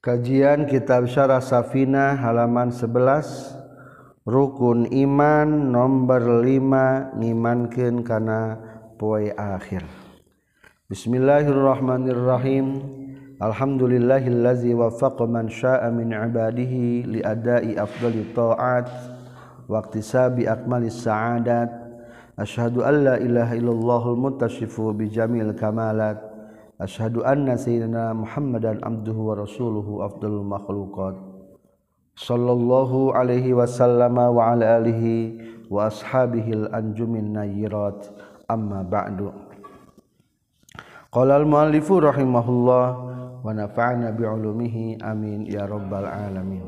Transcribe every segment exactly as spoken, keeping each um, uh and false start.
Kajian Kitab Syarah Safinah halaman sebelas. Rukun iman nomor lima ngimankeun kana poe akhir. Bismillahirrahmanirrahim. Alhamdulillahillazi waffaqa man syaa'a min ibadihi li adai afdhalit ta'at wa iktisabi akmalis sa'adat. Asyhadu an la ilaha illallahul muttasyifu bi jamil kamalat. Asyhadu anna sayyidina Muhammadan abduhu wa rasuluhu afdalul makhluqat sallallahu alaihi wasallam wa ala alihi wa ashabihil anjumin nayyirat amma ba'du. Qala al-muallifu rahimahullah wa nafa'ana bi'ulumihi amin ya rabbal alamin.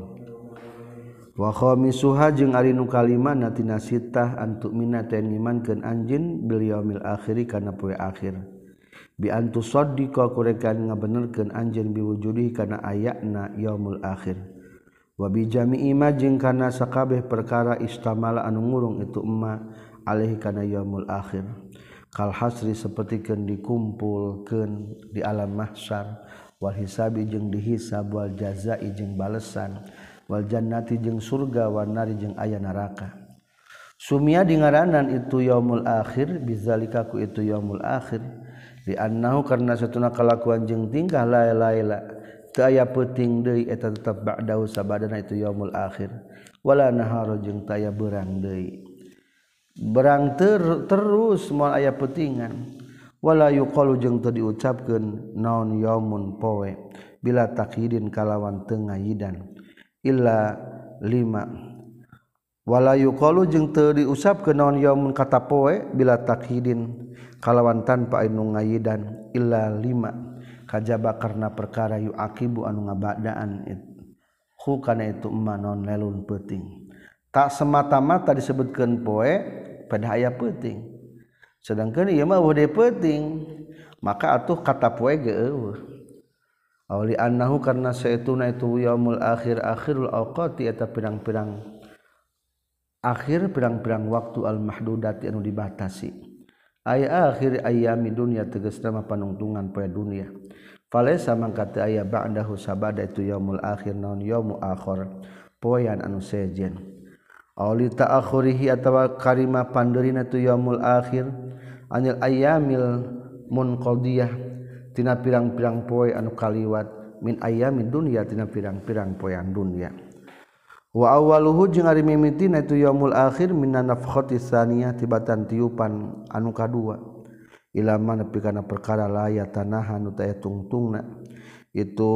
Wa khamisuha jeung ari nu kalimana tina sitah antu minata ngimankeun anjeun bil yaumil akhir kana poe akhir. Bi antu saddiqa kurekan ngabenerkeun anjeun biwujudi kana ayatna yaumul akhir wa bi jami'i ma jeung kana sakabeh perkara istamala anu ngurung itu emma alaihi kana yaumul akhir kal hasri sapertikeun dikumpulkeun di alam mahsyar wal hisabi jeung dihisab wal jazai jeung balesan wal jannati jeung surga wan nari jeung aya neraka. Sumia dingaranan itu yaumul akhir bizalika ku itu yaumul akhir di annahu karna satuna kalakuan jeung tingkah laila teu aya peuting deui eta tetep ba'dahu sabadana itu yaumul akhir wala nahara jeung teu aya beurang deui berang ter, terus moal aya peutingan wala yuqalu jeung teu diucapkeun naon yaumun poe bila takhidin kalawan teu ngayidan illa lima wala yuqalu jeung teu diusapkeun naon yaumun kata poe bila takhidin kalawan tanpa anu ngayidan illa lima kajaba karna perkara yu akibu anu ngabadaan hu kana itu emma non lelun peuting tak semata-mata disebutkeun poe pada aya peuting sedangkeun ieu mah eueuh peuting maka atuh kata poe ge eueuh auli annahu karna saetuna itu yaumul akhir akhirul awqati eta pirang-pirang akhir pirang-pirang waktu al mahdudati anu dibatasi aya akhir ayami dunya tegasna mah panungtungan poe dunya falaisa mangka teu aya ba'dahu sabada itu yaumul akhir naon yaumu akhir poean anu sejen auli ta'akhurihi atawa karima pandeurina tu yaumul akhir anil ayamil munqadiyah tina pirang-pirang poe anu kaliwat min ayamid dunya tina pirang-pirang poean dunya. Wa awwaluhu jeung ari mimitina itu yaumul akhir minan nafkhati tsaniyah tibatan tiupan anu kadua ila man nepi kana perkara la yatanaha nu taya tungtungna itu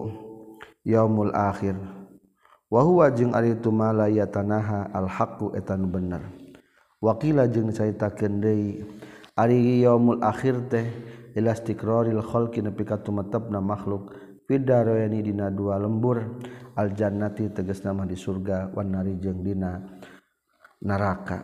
yaumul akhir wa huwa jeung ari itu ma la yatanaha al haqqu eta nu bener waqila jeung dicaritakeun deui ari yaumul akhir teh ila istiqraril khalqi nepi ka tumetepna makhluk fidarayani dina dua lembur al jannati tegasna mah di surga wan nari jeung dina neraka.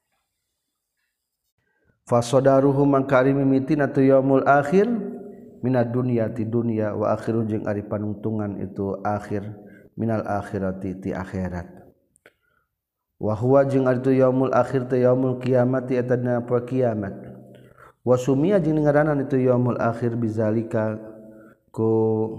Fasadaruhu mangkari mimitina tu yaumul akhir minad dunya ti dunya wa akhiru jeung ari panungtungan itu akhir minal akhirati ti akhirat. Wa huwa jeung ari tu yaumul akhir teh yaumul qiyamati eta dina poe kiamat. Wa sumia jeung ngaranan itu yaumul akhir bizalika ku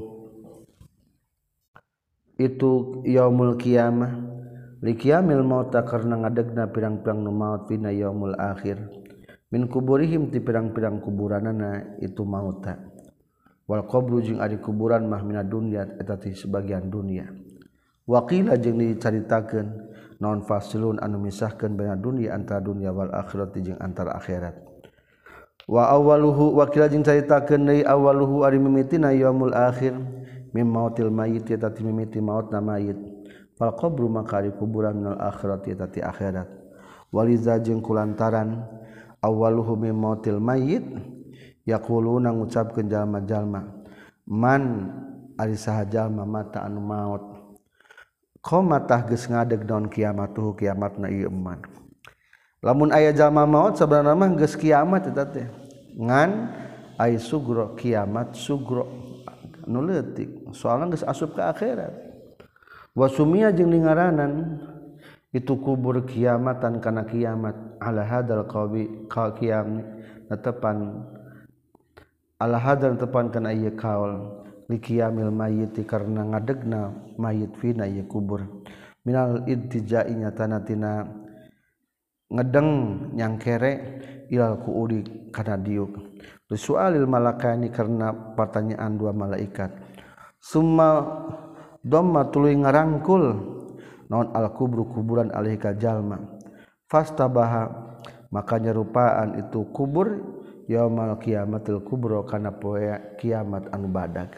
itu yaumul qiyamah li qiyamil maut karna ngadegna pirang-pirang nu maut dina yaumul akhir min kuburihim ti pirang-pirang kuburanana itu mauta wal qabru jeung ari kuburan mah minad dunya eta ti sebagian dunia waqila jeung dicaritakeun naon fasilun anu misahkeun baina dunya antara dunya wal akhirat jeung antara akhirat wa awwaluhu waqila jeung caritakeun deui awwaluhu ari mimitina yaumul akhir mim mautil mayit eta ti mimiti mautna mayit fal qabru makari kuburan minal akhirati eta ti akhirat waliza jeung kulantaran awwaluhu mim mautil mayit yaquluna ngucapkeun jalma-jalma man ari saha jalma mata anu maut qamatah geus ngadeg naon kiamatuh kiamatna ieu eman lamun aya jalma maut sabarana mah geus kiamat eta teh ngan ai sugro kiamat sugro nu leutik soalna geus asup ka akhirat wa sumia jeung ngaranan itu kubur kiamatan kana kiamat ala hadal qawi ka qiyam netepan ala hadal tepan kana ieu kaul liqiyamil mayyit karena ngadegna mayit fina ieu kubur minal idtijai nyatana tina ngedeng nyangkere ilal kuudi kana diuk sualil malakani karena pertanyaan dua malaikat summa dhamma tuluy ngarangkul naon al kubru kuburan alaihi ka jalma fastabaha maka nyerupaan itu kubur yaumal qiyamatil kubra kana poe kiamat anu badag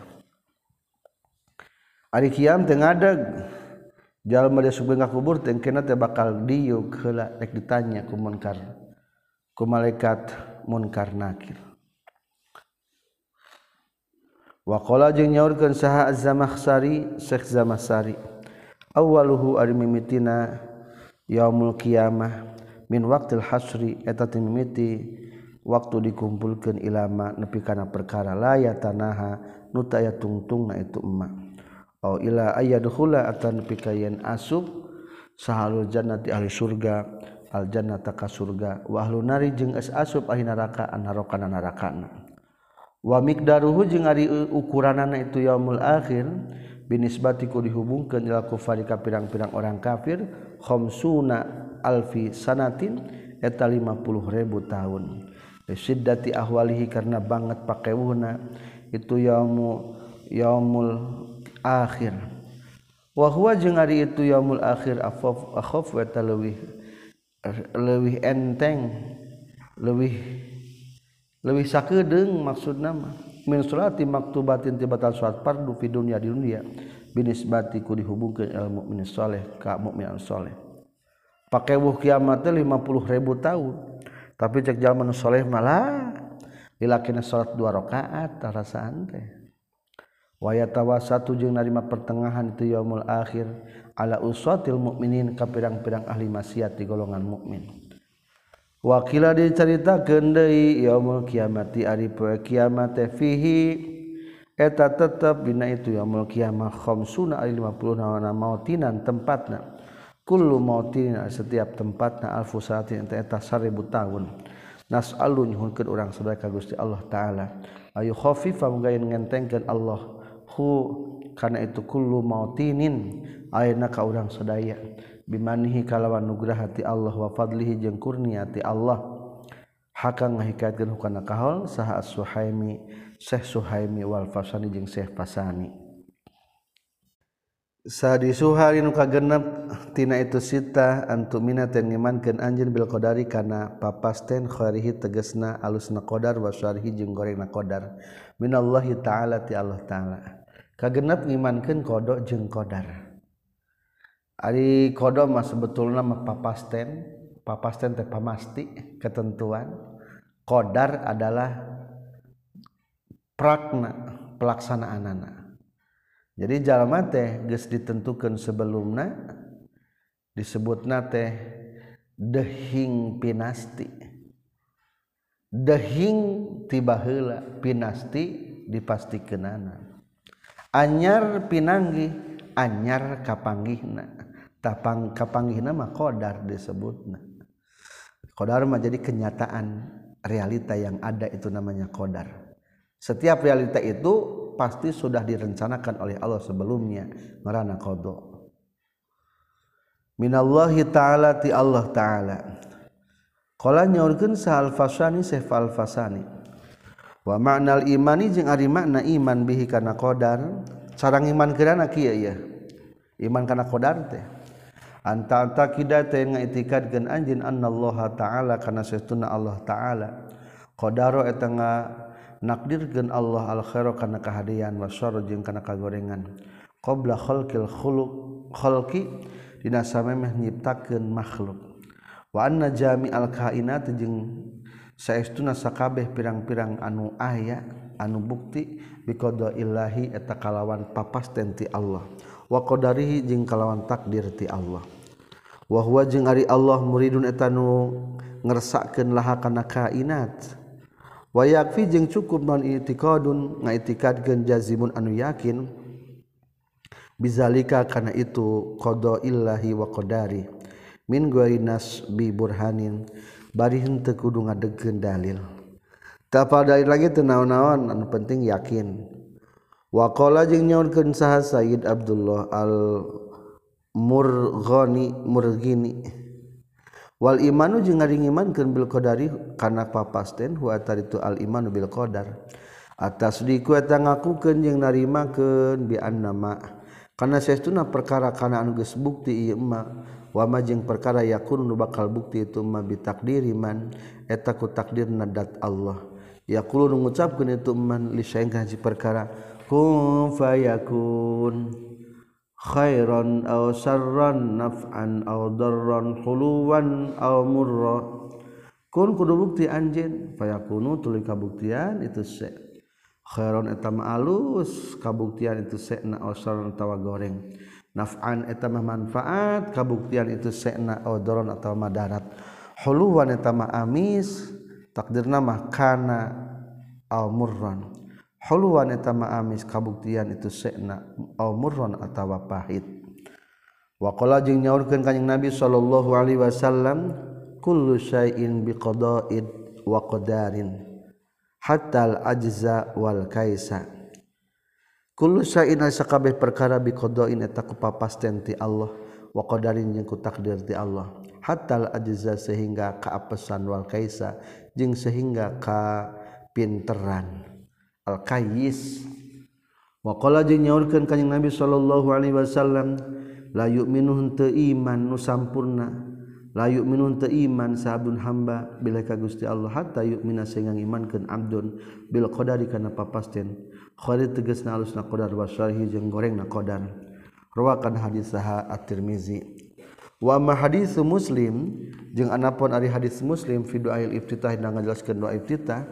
ari kiam teu ngadeg jalma dia subeung ka kubur teh engkena teh bakal diuk heula rek ditanya ku munkar ku malaikat munkar nakir wa qala jeung nyaurkeun saha Az-Zamakhsyari Syekh Zamakhsyari awwaluhu ari mimitina yaumul qiyamah min waqtil hasri eta teh mimiti waktu dikumpulkeun ilama nepi kana perkara la yatanaha nu taya tungtungna itu emak au ila ayyadkhula atan nepi ka yen asup sahalul jannati ahli surga al jannata ka surga wa ahlun nari jeung es asup ahli neraka an neraka narakana wa miqdaruhu jeung ari ukuranana itu yaumul akhir binisbati ku dihubungkeun ila kufari ka pirang-pirang orang kafir khamsuna alfi sanatin eta lima puluh ribu tahun siddati ahwalihi karena banget pakewuhna itu yaumu yaumul akhir wa huwa jeung ari itu yaumul akhir afaf akhaf wa talawih leuwih enteng leuwih leuwih sakedeung maksudna mah min salati maktubatin tibatan salat fardu fi dunya di dunia binisbati ku dihubungkeun al mukmin saleh ka mukmin saleh pakewuh kiamat teh lima puluh ribu tahun tapi cek jalma nu saleh malah dilakina salat dua rakaat tarasaan teh wa yatawassatu jeung narima pertengahan itu yaumul akhir ala usatil mukminin ka pirang-pirang ahli maksiat di golongan mukmin wa qila dicaritakeun deui yaumul kiamati ari poe kiamat teh fihi eta tetep dina itu yaumul kiamah khamsuna ari lima puluh nawana mautinan tempatna kullu mautin setiap tempatna alfu sanatin eta seribu tahun nas'alu nyuhunkeun urang sadaya ka Gusti Allah taala ayu khafifa muga ngentengkeun Allah hu kana itu kullu mautinin ayeuna ka urang sadaya bimanihi kalawan nugrah ti Allah wa fadlihi jeung kurnia ti Allah hakang ngahikatkeun hukana kaul saha as-Suhaimi Syekh Suhaimi wal Fasani jeung Syekh Fasani sadi suhari nu kagenep tina itu sita antu minaten ngimankeun anjeun bil qadari kana papasten khairihi tegasna alusna qadar wa syarhi jeung gorengna qadar minallahi taala ti Allah taala kagenep ngimankeun qada jeung qadar ari qada mah sebetulna mah papasten papasten teh pamasti ketentuan qadar adalah prakna pelaksanaanana. Jadi jalma teh geus ditentukeun sebelumna disebutna teh dehing pinasti. Dehing tiba heula pinasti dipastikeunana. Anyar pinanggih anyar kapanggihna. Tapang kapanggihna mah qadar disebutna. Qadar mah jadi kenyataan realita yang ada itu namanya qadar. Setiap realita itu pasti sudah direncanakan oleh Allah sebelumnya ngaranna qada minallahi ta'ala ti Allah ta'ala qala nyaurkeun sa al-Fasani Syekh al-Fasani wa ma'nal imani jeung ari makna iman bihi kana qadar sareng iman keurana kieu ya iman kana qadar teh anta taqida teh ngaitikadkeun anjeun annallaha ta'ala kana satuna Allah ta'ala qadaro eta nga nakdirkeun Allah al khaira kana kahadian wa syarr jeung kana kagorengan qabla khalqil khuluq khalqi dina samemeh nyiptakeun makhluk wa anna jami'al kainat jeung saestuna sakabeh pirang-pirang anu aya anu bukti biqada illahi eta kalawan papasten ti Allah wa qadarihi jeung kalawan takdir ti Allah wa huwa jeung ari Allah muridun eta nu ngersakkeun laha kana kainat wa yakfi jeung cukup non i'tiqadun ngaitikadkeun jazimun anu yakin bizalika kana itu qada illahi wa qadari min ghairi nasbi burhanin bari henteu kudu ngadegkeun dalil ta pada lagi teu naon-naon anu penting yakin Wa qala jeung nyaurkeun saha Sayyid Abdullah al Murghani Murghini wal imanu jeung ari ngimankeun bil qadari kana papasten hu ataritu al imanu bil qadar atas diku eta ngakukeun jeung narimakeun bi annama kana saestuna perkara kana anu geus bukti ieu ma wa ma jeung perkara yakun nu bakal bukti itu ma bi takdiri man eta ku takdirna dat Allah yaqulu nu ngucapkeun itu man li syai'in ka hiji perkara kun fayakun khairan aw sarran naf'an aw darran huluwan aw murra kun kudu bukti anjeun fayakunu tuluy kabuktian itu se khairan eta mah alus kabuktian itu se'na aw sarran atawa goreng naf'an eta mah manfaat kabuktian itu se'na aw darran atawa madarat huluwan eta mah amis takdirna mah kana aw murran huluwan eta ma amis kabuktian itu se'na aw murran atawa pahit wa qala jeung nyaurkeun kanjing Nabi sallallahu alaihi wasallam kullu syai'in biqada'id wa qadarin hatta al ajza wal kaisa kullu syai'in sakabeh perkara biqada'in eta ku papasten ti Allah wa qadarin jeung ku takdir ti Allah hatta al ajza sehingga ka apesan wal kaisa jeung sehingga ka pinteran al-kayyis wa qala jeung nyaurkeun kanjing Nabi sallallahu alaihi wasallam la yu'minu teu iman nu sampurna la yu'minu teu iman sabun hamba bila ka Gusti Allah hatta yu'mina sehingga imankeun abdun bil qadari kana papasten khari tegasna alusna qadar wa syarhi jeung gorengna qadar rawakan hadis saha at-Tirmizi wa ma hadis Muslim jeung anapun ari hadis Muslim fi du'ail iftitah dina ngajelaskeun doa iftitah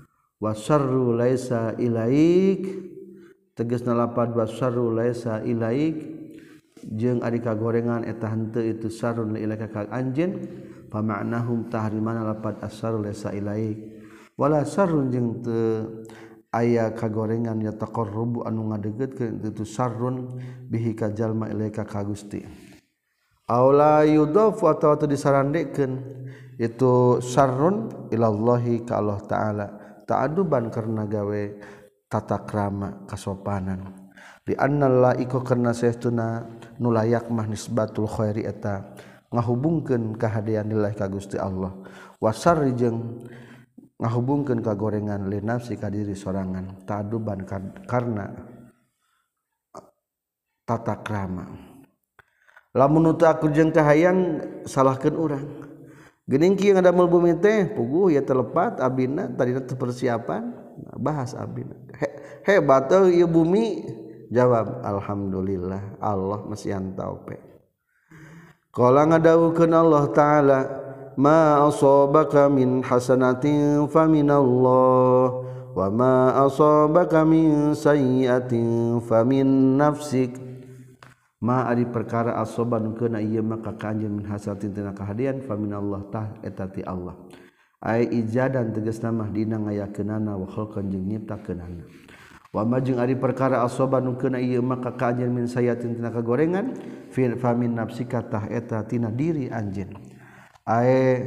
wasarru laisa ilaik tegasna lapad wasarru laisa ilaik jeung ari kagorengan eta henteu itu sarun ilaika ka anjeun fa ma'nahum tahrimana lapad asarru laisa ilaik wala sarrun jeung teu aya kagorengan ya taqarrubu anu ngadeugeutkeun itu sarrun bihi ka jalma ilaika ka Gusti aula yudafu atawa teu disarandekeun itu sarrun ilallahi ka Allah taala ta'aduban karena gawe tata krama kasopanan di annal laiko karena saestuna nu layak mah nisbatul khairi eta ngahubungkeun kahadean lillahi ka Gusti Allah wasarri jeung ngahubungkeun kagorengan li nafsi ka diri sorangan ta'aduban karena tata krama lamun teu aku jeung kahayang salahkeun urang geuning kieu ngadamel bumi teh puguh ya telepat abina tadina teu persiapan bahas abina He, hebat teh ieu bumi jawab alhamdulillah Allah masih antau pe qala ngadawukeun Allah taala ma asabaka min hasanatin faminallah wa ma asabaka min sayyi'atin famin nafsik ma ari perkara asoban keuna ieu mah ka anjeun min hasatin tina kahadian fa minallah tah eta ti Allah ai ijadan tegasna mah dina ngayakeunana wa khalqan jeung nyiptakeunana wa ma jeung ari perkara asoban keuna ieu mah ka anjeun min sayatin tina kagorengan fa min nafsika tah eta tina diri anjeun ai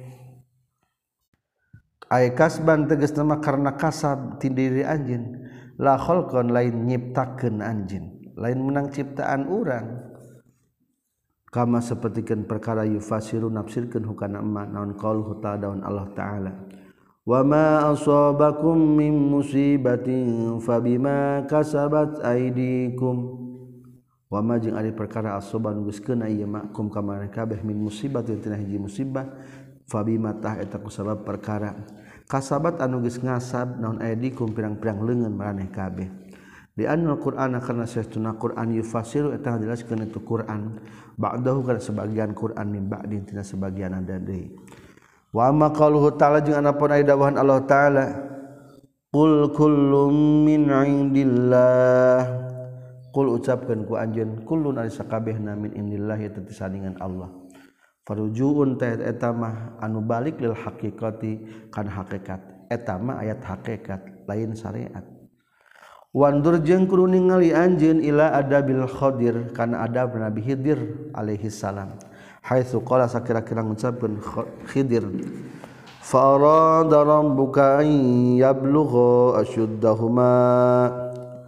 ai kasban tegasna mah karna kasab ti diri anjeun la khalqan lain nyiptakeun anjeun lain menang ciptaan urang kama sapertikeun perkara yufasiru nafsirkeun hukana emma naon qauluhu ta'ala daun Allah taala wa ma asabakum min musibatin fabima kasabat aydikum wa ma jeung ari perkara asoban geus keuna ieu makum ka maneh kabeh min musibatin tina hiji musibah fabima tah eta kusabab perkara kasabat anu geus ngasab naon aydikum pirang-pirang leungeun maneh kabeh di anna Qur'ana karena saestuna Qur'an yufasiru eta ngajelaskeun itu Qur'an ba'dahu kana sebagian Qur'an min ba'din tina sebagian ada deui wa ma qauluhu ta'ala jeung anapun aya dawuhan Allah taala qul kullum min indillah qul ucapkeun ku anjeun kullun ari sakabehna min indillah eta tisandingan Allah farujuun ta eta mah anu balik lil haqiqati kana hakikat eta mah ayat hakikat lain syariat wandur jeung kudu ningali anjeun ila adabil Khadir kana adab Nabi Khidir alaihi salam haitsu qala sakira-kira ngucapkeun Khidir fa arada rabbuka an yablugha ashuddahuma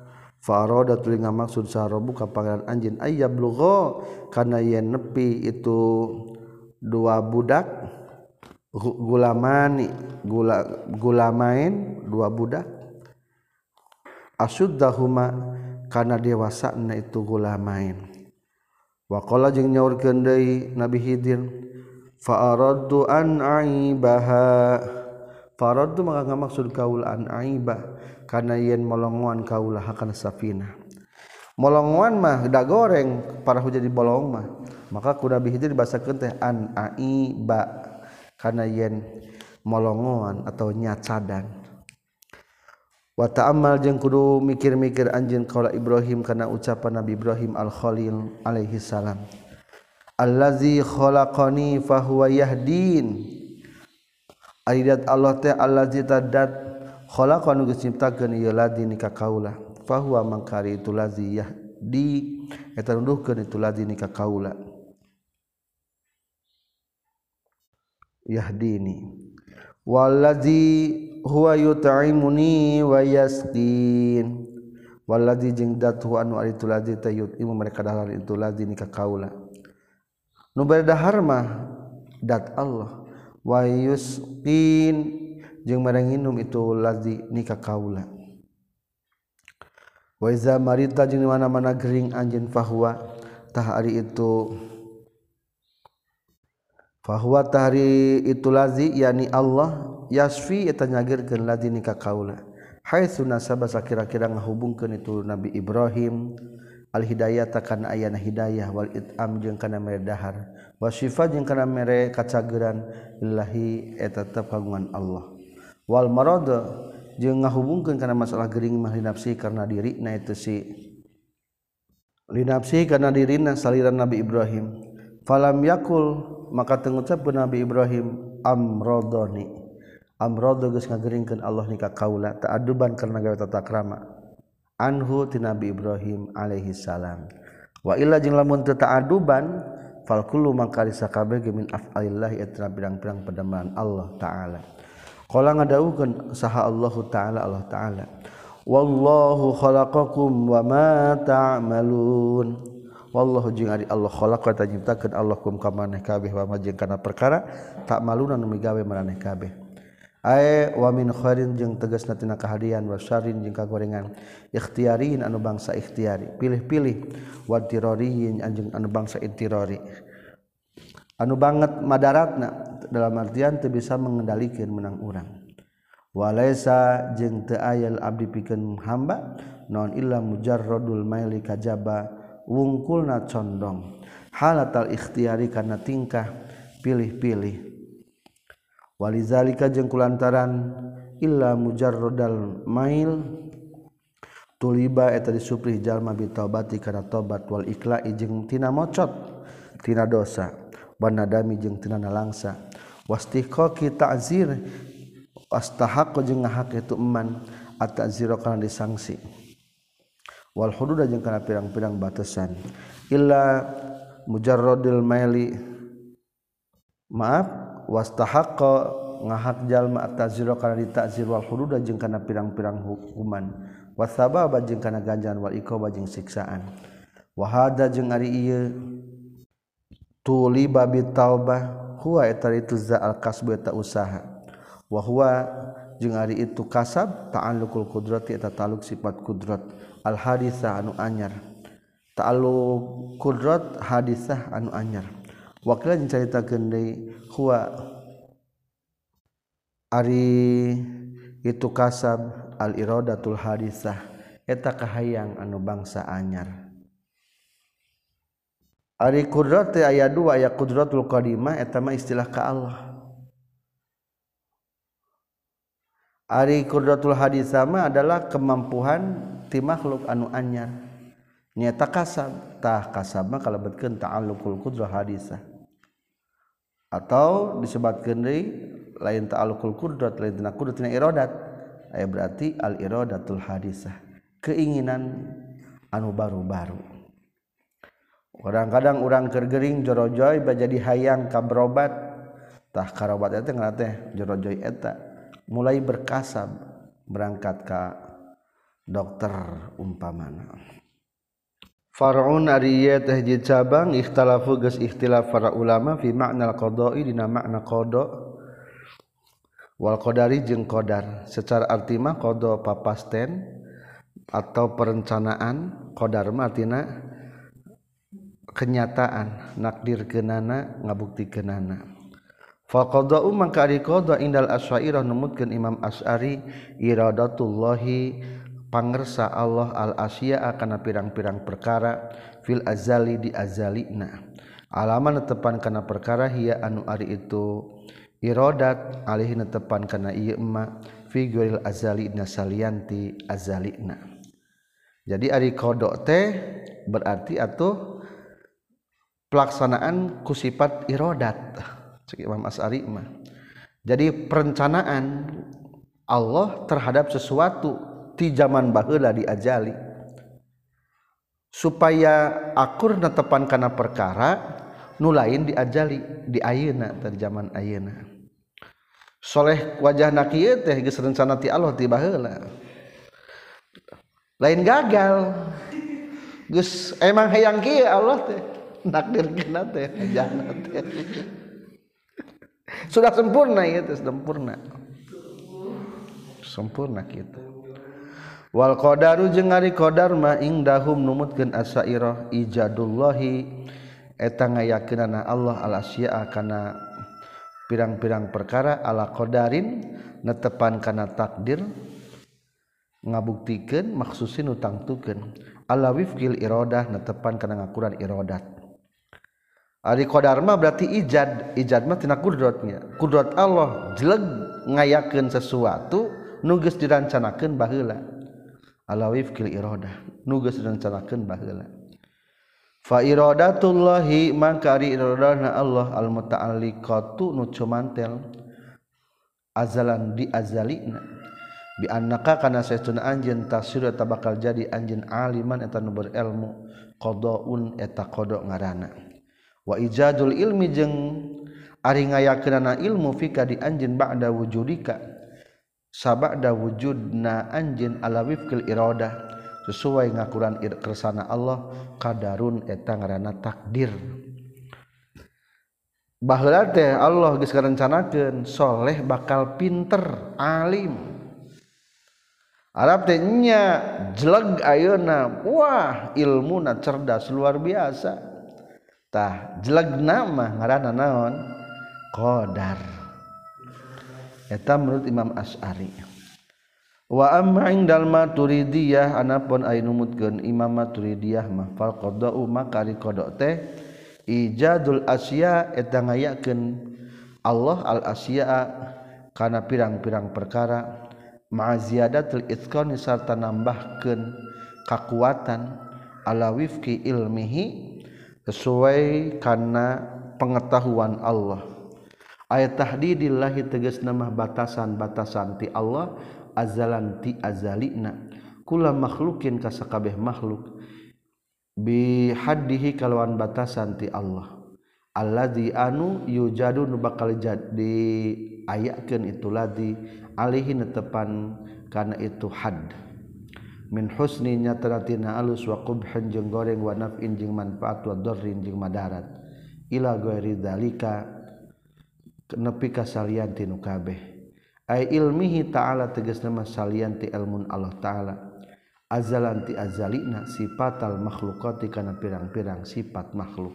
Faroda tulinga maksud sarobu ka pangeran anjeun ayyablugha kana yen nepi itu dua budak gulamani gula gulamain dua budak asuddahuma kana dewasana itu gulamain wa qala jeung nyaurkeun deui Nabi Khidir fa aradtu an aibaha faradtu maka ngamaksud kaula an aibah kana yen molongoan kaulah kana safinah molongoan mah da goreng parah jadi bolong mah maka ku Nabi Khidir dibasakeun teh an aiba kana yen molongoan atau nyacadan wa ta'ammal jeung kudu mikir-mikir anjeun kaula Ibrahim kana ucapan Nabi Ibrahim al-Khalil alaihi salam allazi khalaqani fa huwa yahdin ayat Allah teh allazi tadat khalaqanu geus nyiptakeun ieu ladzi ka kaula fa huwa mangkari itu ladzi yahdi eta nuduhkeun itu ladzi ka kaula yahdini wallazi huwa yut'imuni wa yasqin wallazi jeung dat huwa anu ari itu ladzi tayut imu mereka dahar itu ladzi ka kaula nu bari dahar mah dat Allah wa yusqin jeung mereng nginum itu ladzi ka kaula wa iza marita jeung mana-mana gering anjeun fahuwa tah ari itu fahuwa tahri itu ladzi yani Allah yasfi eta nyagirkeun ladzi ka kaula haitsu nasaba sakira-kira ngahubungkeun itu Nabi Ibrahim al hidayata kana ayana hidayah wal it'am jeung kana mere dahar wa syifa jeung kana mere kacageuran lillahi eta tetep kagungan Allah wal marad jeung ngahubungkeun kana masalah gering mah linafsi karena dirina itu si linafsi karena dirina saliran Nabi Ibrahim falam yakul maka tengucapkeun Nabi Ibrahim amradani amrado geus ngageringkeun Allah ni ka kaula ta'adduban karena gawe tata krama anhu ti Nabi Ibrahim alaihi salam wa illa jeung lamun teu ta'adduban fal kullu mangkari sakabeh min af'alillah eta pirang-pirang pedamaan Allah taala qala ngadawukeun saha Allah taala Allah taala wallahu khalaqakum wa ma ta'malun wallahu jeung ari Allah khalaqa ta nyiptakeun Allah kum ka maneh kabeh wa ma jeung kana perkara ta'maluna nu migawe maneh kabeh ay wa min khairin jeung tegasna tina kahadian wa syarrin jeung kagorengan ikhtiyariin anu bangsa ikhtiyari pilih-pilih wa tirariin anjeun anu bangsa intirari anu banget madaratna dalam artian teu bisa mengendalikeun menang urang walaisa jeung teu aya abdi pikeun hamba naon illa mujarradul maili kajaba wungkulna condong halatal ikhtiyari kana tingkah pilih-pilih walizalika jeung kulantaran illa mujarradal mail tuliba eta disuprih jalma bi taubati kana tobat wal ikla'i jeung tina mocot tina dosa wanadami jeung tina nalangsa wastiqaqi ta'zir wastahaqqa jeung ngahak itu eman at-ta'zira kana disangsi wal hudud jeung kana pirang-pirang batasan illa mujarradil maili maaf wastahaqqa ngahak jalma at-ta'zira kana dita'zir wal hudud jeung kana pirang-pirang hukuman wasababa jeung kana ganjaran wal iqaba jeung siksaan wa hada jeung ari ieu tuliba bi taubah huwa eta itu za al kasbu eta usaha wa huwa jeung ari itu kasab ta'alluqul qudrati eta ta'alluq sifat qudrat al hadisah anu anyar ta'alluq qudrat hadisah anu anyar wakila jeung caritakeun deui huwa ari itu kasab al iradatul hadisah eta kahayang anu bangsa anyar ari qudrat teh aya dua aya qudratul qadimah eta mah istilah ka Allah ari qudratul hadisah mah adalah kemampuan ti makhluk anu anyar nyata kasab tah kasab mah kalebetkeun ta'alluqul qudrah hadisah atau disebutkeun deui lain ta'alluqul qudrat lain tina qudrat tina iradat aya berarti al iradatul hadisah keinginan anu baru-baru kadang-kadang urang keur gering jorojoy bajadi hayang ka berobat tah karobat eta ngaranna teh jorojoy eta mulai berkasab berangkat ka dokter umpamana. Far'un ari ieu teh hiji cabang ikhtalafu geus ikhtilaf para ulama fi ma'nal qada'i dina makna qada wal qadari jeung qadar. Secara arti mah qada papasten atau perencanaan, qadar mah artina kenyataan, nakdirkeunana, ngabuktikeunana. Fa qada'u mangka ari qada indal asy'ariyah numutkeun Imam Asy'ari iradatullahi pangersa Allah al asya'a kana pirang-pirang perkara fil azali di azalina. Alaman netepan kana perkara hiya anu ari itu iradat alih netepan kana ieu emma fi ghairil azali nasalianti azalina. Jadi ari qada teh berarti atuh pelaksanaan ku sifat iradat cek Imam Asy'ari mah. Jadi perencanaan Allah terhadap sesuatu ti zaman baheula diajali supaya akur netepan kana perkara nu lain diajali di ayeuna tadi zaman ayeuna. Soleh wajahna kieu teh geus rencana ti Allah ti baheula. Lain gagal. Geus emang hayang kieu Allah teh nakdirkeunna teh wajahna teh. Sudah sempurna ieu teh sempurna. Sempurna kitu. Wal qadaru jeung ari qadar mah indahum numutkeun asy'ariyah ijadullahi eta ngayakeunana Allah al asya'a kana pirang-pirang perkara ala qadarin netepan kana takdir ngabuktikeun maksusin utangtukeun ala wifqil iradah netepan kana ngakuran iradat. Ari qadar mah berarti ijad, ijad mah tina kudratnya. Kudrat Allah jeleg ngayakeun sesuatu nu geus dirancanakeun baheula. Ala wifqil iradah nu geus dirancanakeun baheula. Fa iradatullahi maka ari iradana Allah al muta'alliqatu nu cumantel azalan di azalina bi annaka kana saestuna anjeun tasir eta bakal jadi anjeun aliman eta nu berilmu qadaun eta qada ngaranna wa ijadul ilmi jeung ari ngayakeunana ilmu fika di anjeun ba'da wujudika sabada wujudna anjeun ala wifqil iradah sesuai ngakuran kersana Allah qadarun eta ngaranna takdir. Baheula teh Allah geus ngarencanakeun soleh bakal pinter alim. Arab teh nya jeleg ayeuna wah ilmuna cerdas luar biasa. Tah jelegna mah ngaranna naon? Qadar. Eta menurut Imam Asy'ari. Wa amma indal maturidiyah anapun aya numutkeun Imam Maturidiyah mah fal qada'u maka ari qada' teh ijadul asya eta ngayakeun Allah al asya'a kana pirang-pirang perkara ma ziyadatul itqan sarta nambahkeun kakuatan ala wifqi ilmihi sesuai kana pengetahuan Allah. Ayat tahdidillahi tegasna mah batasan-batasan ti Allah azalan ti azalina kula makhlukin ka sakabeh makhluk bi haddihi kalawan batasan ti Allah alladzi anu yujadu nu bakal jadi ayakeun itu ladzi alihi netepan kana itu had min husni nyataratina alus wa qubhan jeung goreng wa naf'in jeung manfaat wa darrin jeung madarat ila ghairi dzalika nepi ka salian ti nu kabeh ay ilmihi ta'ala tegasna salian ti ilmun Allah ta'ala azalan ti azalina sifatal makhluqati kana pirang-pirang sifat makhluk.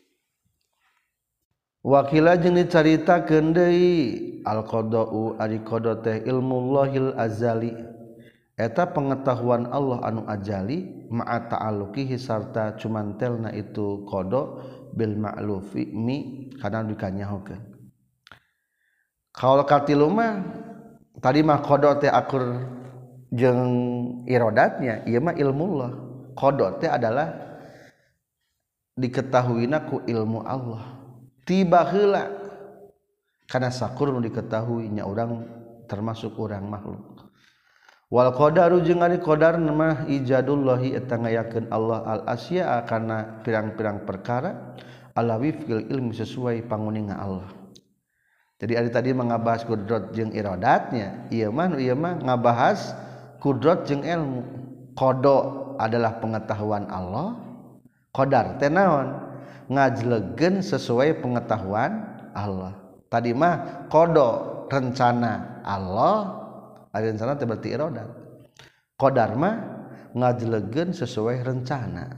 Wakila jeung dicaritakeun deui al qada'u ari qada teh ilmullahil azali eta pengetahuan Allah anu ajali ma'a ta'alluqihi sarta cumantelna itu qada bil ma'lufi mi kana dikanyahokeun. Kaul katilu mah tadi mah qada teh akur jeung iradatnya ieu mah ilmullah. Qada teh adalah diketahuina ku ilmu Allah. Tiba heula kana sakur nu diketahui nya urang termasuk urang makhluk. Wal qadaru jeung ari qadar mah ijadullahi eta ngayakeun Allah al asya'a kana pirang-pirang perkara ala wifqil ilmi sesuai panguninga Allah. Jadi ari tadi mangabahas kudrat jeung iradatnya, ieu mah ieu mah ngabahas kudrat jeung ilmu. Qada adalah pengetahuan Allah, qadar teh naon? Ngajlegeun sesuai pengetahuan Allah. Tadi mah qada rencana Allah, ari rencana teh berarti iradat. Qadar mah ngajlegeun sesuai rencana.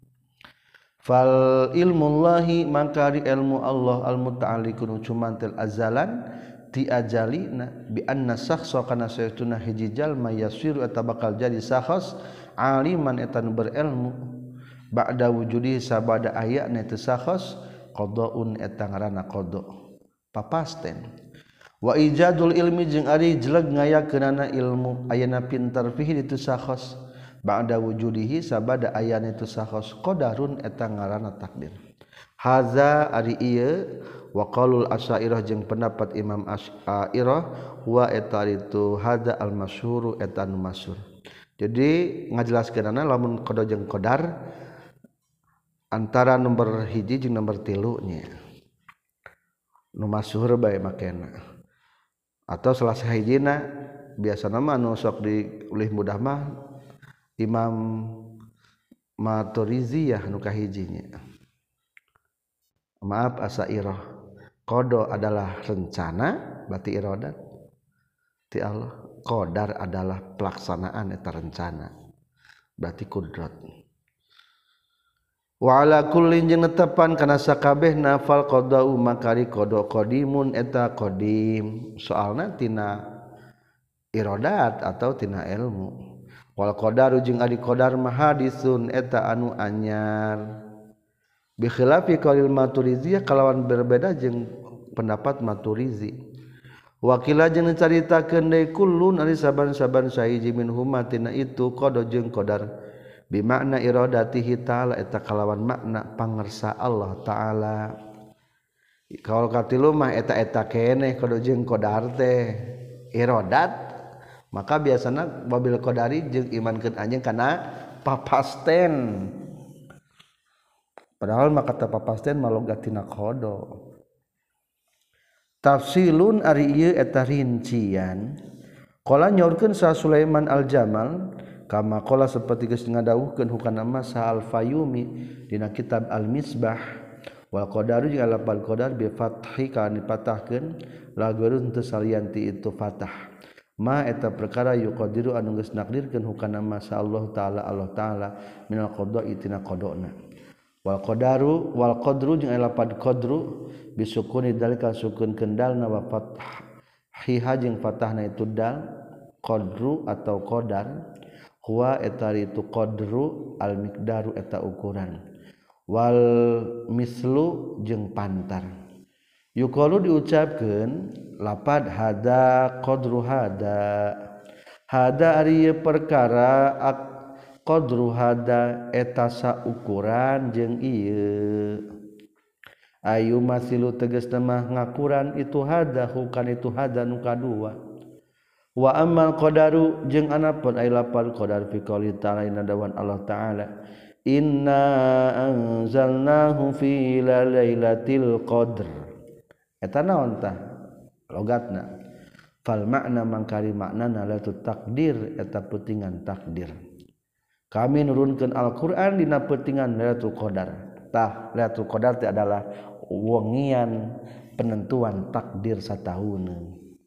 Fal ilmullahi maka ilmu Allah al muta'alliqun cumantel azalan ti ajalina bi anna sakhsa kana saytuna hiji jalma yasiru eta bakal jadi sakhs aliman eta nu berilmu ba'da wujudi sabada ayatna teu sakhs qadaun eta ngaranna qada papasten wa ijadul ilmi jeung ari jeleg ngayakeunana ilmu ayana pintar fihi itu sakhs ba'da wujudihi sabada ayatna itu sakhs qadarun eta ngaranna takdir haza ari ieu wa qaulul asy'ariyah jeung pendapat Imam Asy'ariyah wa eta itu hada al masyhur eta nu masyhur. Jadi ngajelaskeunana lamun qada jeung qadar antara nomor hiji jeung nomor tilu nya. Nu masyhur bae makena. Atau salah sahijina biasana mah anu sok diulih mudah mah Imam Maturiziyah nu kahijinya. Maaf Asy'ariyah. Qada adalah rencana berarti iradat ti Allah. Qadar adalah pelaksanaan eta rencana berarti kudrat. Wa ala kullin jeung netepan kana sakabehna fal qada'u makari qada qadimun eta qadim. Soalna tina iradat atau tina ilmu. Wal qadaru jeung ari qadar mah hadisun eta anu anyar. Bi khilafi qaulil Maturiziyah kalawan berbeda jeung pendapat Maturizi. Wakila jeung caritakeun deui kullun ari saban-saban sahiji minhuma tina itu qada jeung qadar bi makna iradatihi ta'ala eta kalawan makna pangersa Allah taala. Kaul katilu mah eta-eta keneh qada jeung qadar teh iradat maka biasana wabil qadari jeung imankeun anjeun kana papasten. Padahal maka kata papasten malogatina qada. Tafsilun ari ieu eta rincian. Qala nyaurkeun sa Sulaiman al-Jamal kama qala saperti geus ngadawuhkeun hukana masa al-Fayumi dina kitab Al-Misbah wal qadaru jeung lafal qadar bi fathi kana dipatahkeun lageurun teu salianti itu fatah. Ma eta perkara yuqadiru anu geus nakdirkeun hukana masa Allah taala Allah taala minal qada'i tina qadana. Wal qadaru wal qadru jeung lafaz qadru bisukuni dalika sukun kendalna wa fathiha jeung fathahna itu dal qadru atau qadar huwa eta itu qadru al miqdaru eta ukuran wal mislu jeung pantar yuqalu diucapkeun lafaz hada qadru hada hada ari perkara qadru hada eta saukuran jeung ieu ayu masilu tegasna mah ngakuran itu hada hukan itu hada nu kadua wa ammal qadaru jeung anapun ay lapal qadar fi qouli ta'ala inna dawan Allah taala inna anzalnahu fi lailatul qadr eta naon tah logatna fal makna mangkari maknana lailatul takdir eta peutingan takdir. Kami nurunkeun Al-Qur'an dina peutingan Lailatul Qadar. Tah Lailatul Qadar teh adalah wengian penentuan takdir satahuneun.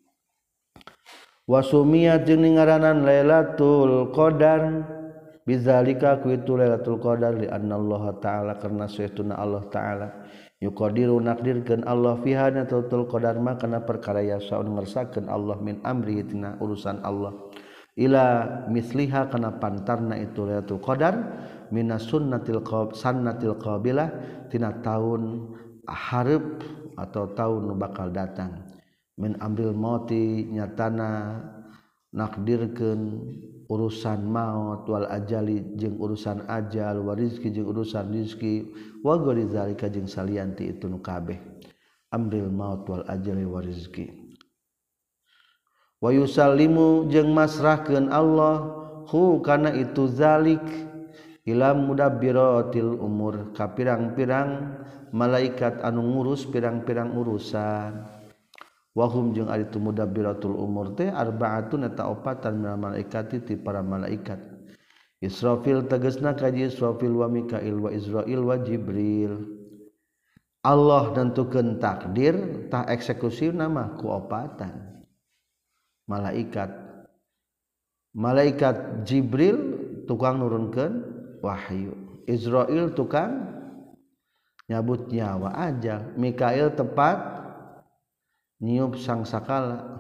Wa sumiyat jeung ngaranan Lailatul Qadar bizalika ku itu Lailatul Qadar li anna Allah taala karna saytuna Allah taala yuqadiru nakdirkeun Allah fiha Lailatul Qadar mah kana perkara yasaun ngersakeun Allah min amri tina urusan Allah. Ila misliha kana pantarna itu Lailatul Qadar minas sunnatil qab sannatil qabilah tina taun hareup atau taun nu bakal datang min amril mauti nyatana nakdirkeun urusan maut wal ajali jeung urusan ajal wa rizki jeung urusan rizki wa ghairi zalika jeung salianti itu nu kabeh amril maut wal ajali wa rizki wa yusallimu jeung masrahkeun Allah hu kana itu zalik ila mudabbiratil umur ka pirang-pirang malaikat anu ngurus pirang-pirang urusan wa hum jeung ari tu mudabbiratul umur teh arbaatun eta opatan minal malaikati ti para malaikat Israfil tegasna kaji Israfil wa Mikail wa Israil wa Jibril. Allah nentukeun takdir tah eksekusi nama ku opatan malaikat. Malaikat Jibril tukang nurunkeun wahyu, Israil tukang nyabut nyawa ajal, Mikail tepat niup sangsakala.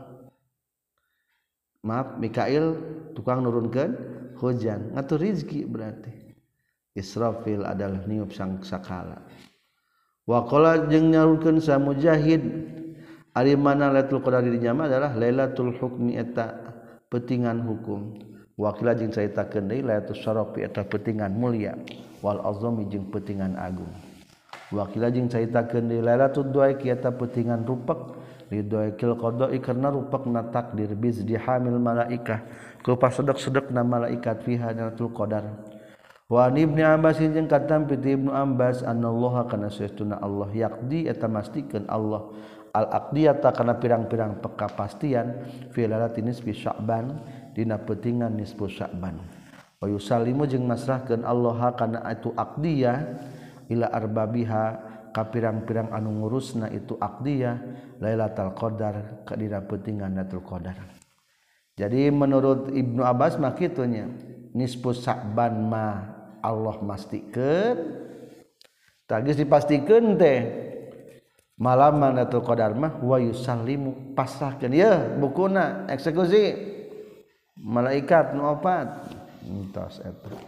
Maaf, Mikail tukang nurunkeun hujan, ngatur rizki berarti. Israfil adalah niup sangsakala. Wa qala jeung nyaurkeun sa Mujahid ari mana Lailatul Qadar di nya adalah Lailatul Hukmi eta peutingan hukum. Wa qila jeung caritakeun deui Lailatul Syarafi eta peutingan mulia wal azami jeung peutingan agung. Wa qila jeung caritakeun deui Lailatul Du'a eta peutingan rupek ridhoikil qada'i karna rupekna takdir bizdi hamil malaikah ku pasedek-sedekna malaikat fiha Lailatul Qadar. Wa Ibnu Abbas jeung katam piti Ibnu Abbas anallaha kana saestuna Allah yaqdi eta mastikeun Allah al aqdiyata kana pirang-pirang pekapastian fi lailatin nisfi Sya'ban dina peutingan nisfu Sya'ban. Wa yusallimu jeung masrahkeun Allah kana itu aqdiyah ila arbabiha ka pirang-pirang anu ngurusna itu aqdiyah Lailatul Qadar ka dina peutingan Lailatul Qadar. Jadi menurut Ibnu Abbas mah kitu nya nisfu Sya'ban mah Allah mastikeun tagis dipastikeun teh malam Lailatul Qadar mah wa yusallimu pasrahkeun ya bukuna eksekusi malaikat nu opat entos eta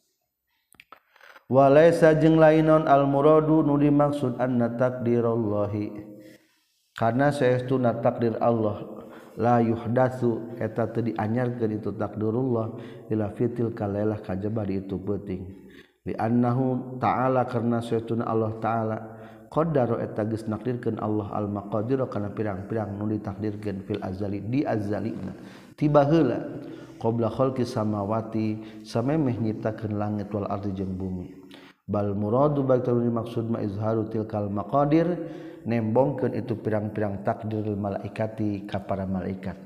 wa laisa jeung lain al muradu nu dimaksud anna takdirallahi karena saestuna takdir Allah la yuhdatsu eta teu dianyarkeun itu takdirullah ila fitil kalailah kajaba di itu peuting li annahu ta'ala karna saestuna Allah ta'ala qaddara eta geus nakdirkeun Allah al maqadir kana pirang-pirang nu ditakdirkeun fil azali di azalina tiba heula qabla khalqi samawati samemeh nyiptakeun langit wal ardi jeung bumi bal muradu baikul maksud ma izharu tilkal maqadir nembongkeun itu pirang-pirang takdir malaikati ka para malaikat.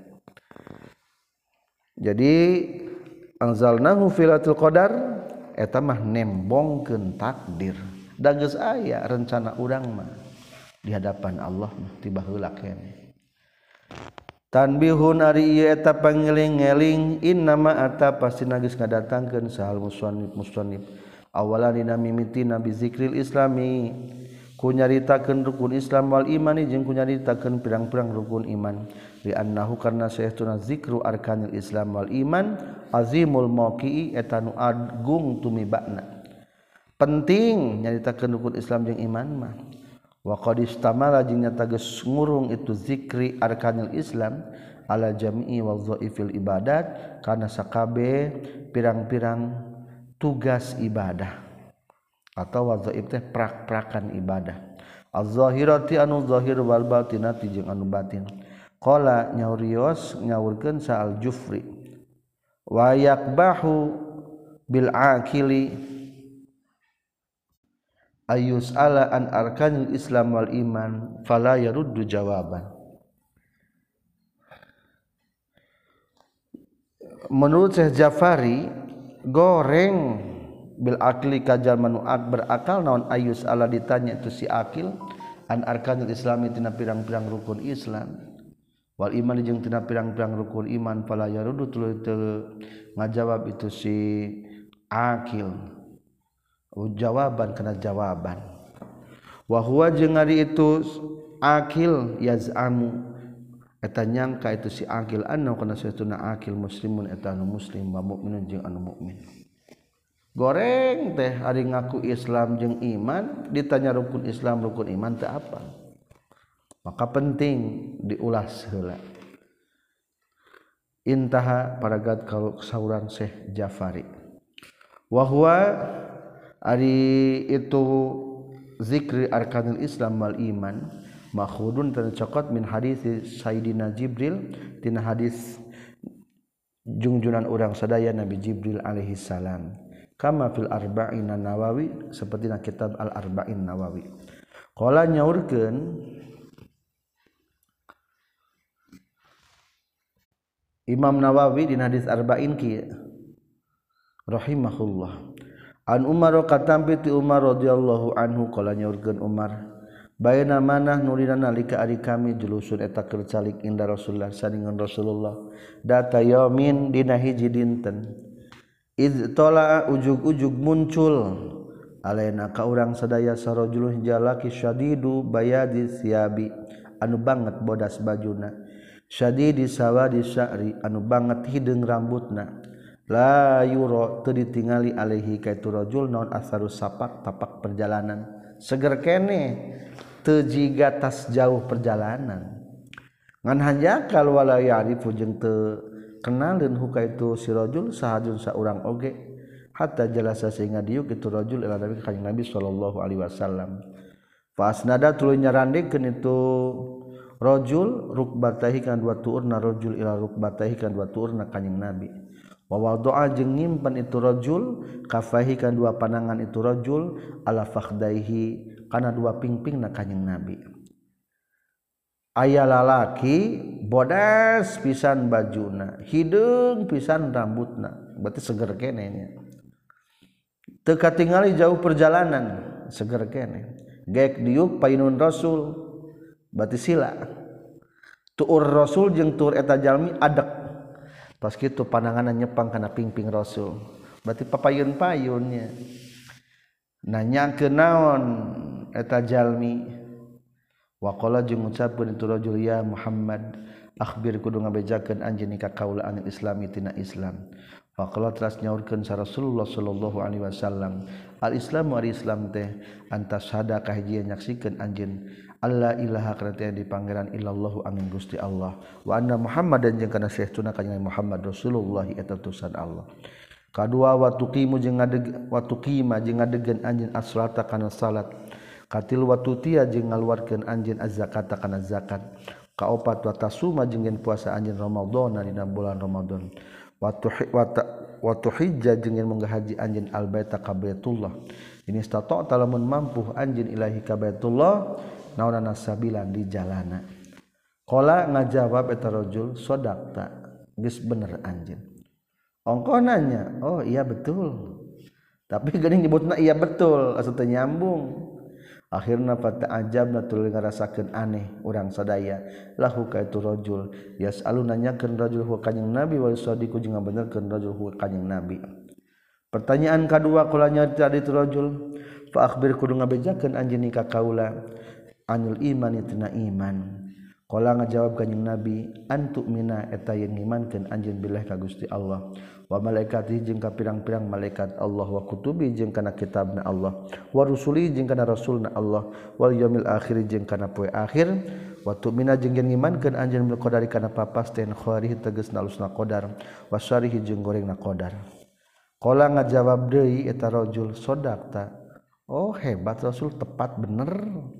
Jadi anzalnahu fil lailatul qadar eta mah nembongkeun takdir. Da geus aya rencana urang mah di hadapan Allah mah tiba heula keneh. Tanbihun ari ieu eta pangeling-eling innama ata pastina geus ngadatangkeun sahal musannif musannif awalan dina mimitina bi zikril islami ku nyaritakeun rukun Islam wal imani jeung ku nyaritakeun pirang-pirang rukun iman li annahu karna saestuna zikru arkanil Islam wal iman azimul mauqi'i eta nu agung tumibana penting nyaritakeun rukun Islam jeung iman mah wa qad istamala jeung nyata geus ngurung itu zikri arkanil Islam ala jami'i wadhaifil ibadat kana sakabe pirang-pirang tugas ibadah atau wadhaif teh prak-prakan ibadah az-zahirati anu zahir wal batinati jeung anu batin qala nyaurios nyaurkeun sa al-Jufri wa yakbahu bil akili ayus ala an arkanil Islam wal iman fala yaruddu jawaban. Menurut Syekh Jafari goreng bil akli kajal manu berakal naon ayus ala ditanya itu si akil an arkanil Islam tina pirang-pirang rukun Islam wal iman jeung tina pirang-pirang rukun iman fala yaruddu teu ngajawab itu si akil jawaban kana jawaban wa huwa jeung ari itu akil yaz'amu eta nyangka itu si akil anna kana satuna akil muslimun eta anu muslim wa mukminun jeung anu mukmin goreng teh ari ngaku Islam jeung iman ditanya rukun Islam rukun iman teh apa maka penting diulas heula intaha paragat kalau sauran Syekh Jafari wa huwa ari itu zikri arkanil Islam wal iman makhudun tercokot min hadis Sayyidina Jibril tina hadis junjunan urang sadaya Nabi Jibril alaihi salam kama fil arba'in Nawawi seperti na kitab al arba'in Nawawi qala nyaurkeun Imam Nawawi di hadis arba'in kieu rahimahullah. An Umar katampi ti Umar radhiyallahu anhu qala nyaurkeun Umar baina manah nurina nalika ari kami julusun eta keur calik inda Rasulullah saningan Rasulullah data yaumin dina hiji dinten iz tala ujug-ujug muncul alaina ka urang sadaya sarajulun jalaki syadidu bayadi siabi anu banget bodas bajuna syadidi sawadi sya'ri anu banget hideung rambutna la yura teu ditingali alaihi ka itu rajul naon asarus sapak tapak perjalanan seger kene teu jiga tas jauh perjalanan ngan hanjakal wala ya'rifu jeung teu kenaleun huka itu si rajul sahajun saurang oge hatta jalasa sehingga diuk itu rajul ila nabi kanjing Nabi sallallahu alaihi wasallam fa asnada tuluy nyarandikeun itu rajul rukbatahi kan dua tuurna rajul ila rukbatahi kan dua tuurna kanjing Nabi wa wada'a jeung nyimpen itu rajul kafahi kan dua panangan itu rajul ala fakhdaihi kana dua pingpingna kanjing Nabi aya lalaki bodas pisan bajuna hideung pisan rambutna berarti seger keneh nya teu katingali jauh perjalanan seger keneh geek diuk painun rasul berarti sila tuur rasul jeung tuur eta jalmi adek pas kitu pananganna nyepang kana pingping rasul berarti papayun-payunnya nanyakeun naon eta jalmi waqala jeung ngucapkeun itu rajul ya Muhammad akhbir kudu ngabejakeun anjeun ka kaula anil islami tina Islam faqala teras nyaurkeun sa Rasulullah sallallahu alaihi wasallam al islamu ari Islam teh antas hada kahiji nyaksikeun anjeun alla ilaha kana di pangeran illallahu angin Gusti Allah wa anna Muhammadan jeung kana saestuna kanjeng Muhammad Rasulullah eta utusan Allah kadua wa tuqimu jeung ngadeg wa tuqima jeung ngadegeun anjeun as-salata kana salat katil wa tutia jeung ngaluarkeun anjeun az-zakata kana zakat kaopat wa tasuma jeung yen puasa anjeun Ramadan dina bulan Ramadan wa wa tuhijja jeung yen munggah haji anjeun al-baita ka Baitullah ini stata'ta lamun mampu anjeun ilahi ka Baitullah naonana sabilan di jalana qala ngajawab eta rajul sodaqta geus bener anjeun ongko nanya oh iya betul tapi geuning nyebutna iya betul asa teu nyambung akhirna fata'ajabna tuluy ngarasakeun aneh urang sadaya lahu ka itu rajul yasalu nanyakeun rajul hu kanjing Nabi wa sadiqu jeung ngabenerkeun rajul hu kanjing Nabi pertanyaan kadua qala nyarita itu rajul fa akhbir kudu ngabejakeun anjeun ka kaula anil iman tina iman qala ngajawab kanjing Nabi antu mina eta yen ngimankeun anjeun billah ka Gusti Allah wa malaikatihi jeung ka pirang-pirang malaikat Allah wa kutubi jeung kana kitabna Allah wa rusuli jeung kana rasulna Allah wal yaumil akhir jeung kana poe akhir wa tu'mina jeung yen ngimankeun anjeun bil qadari kana papasten khairihi tegasna alusna qadar wa syarihi jeung gorengna qadar qala ngajawab deui eta rajul sodaqta oh hebat Rasul tepat bener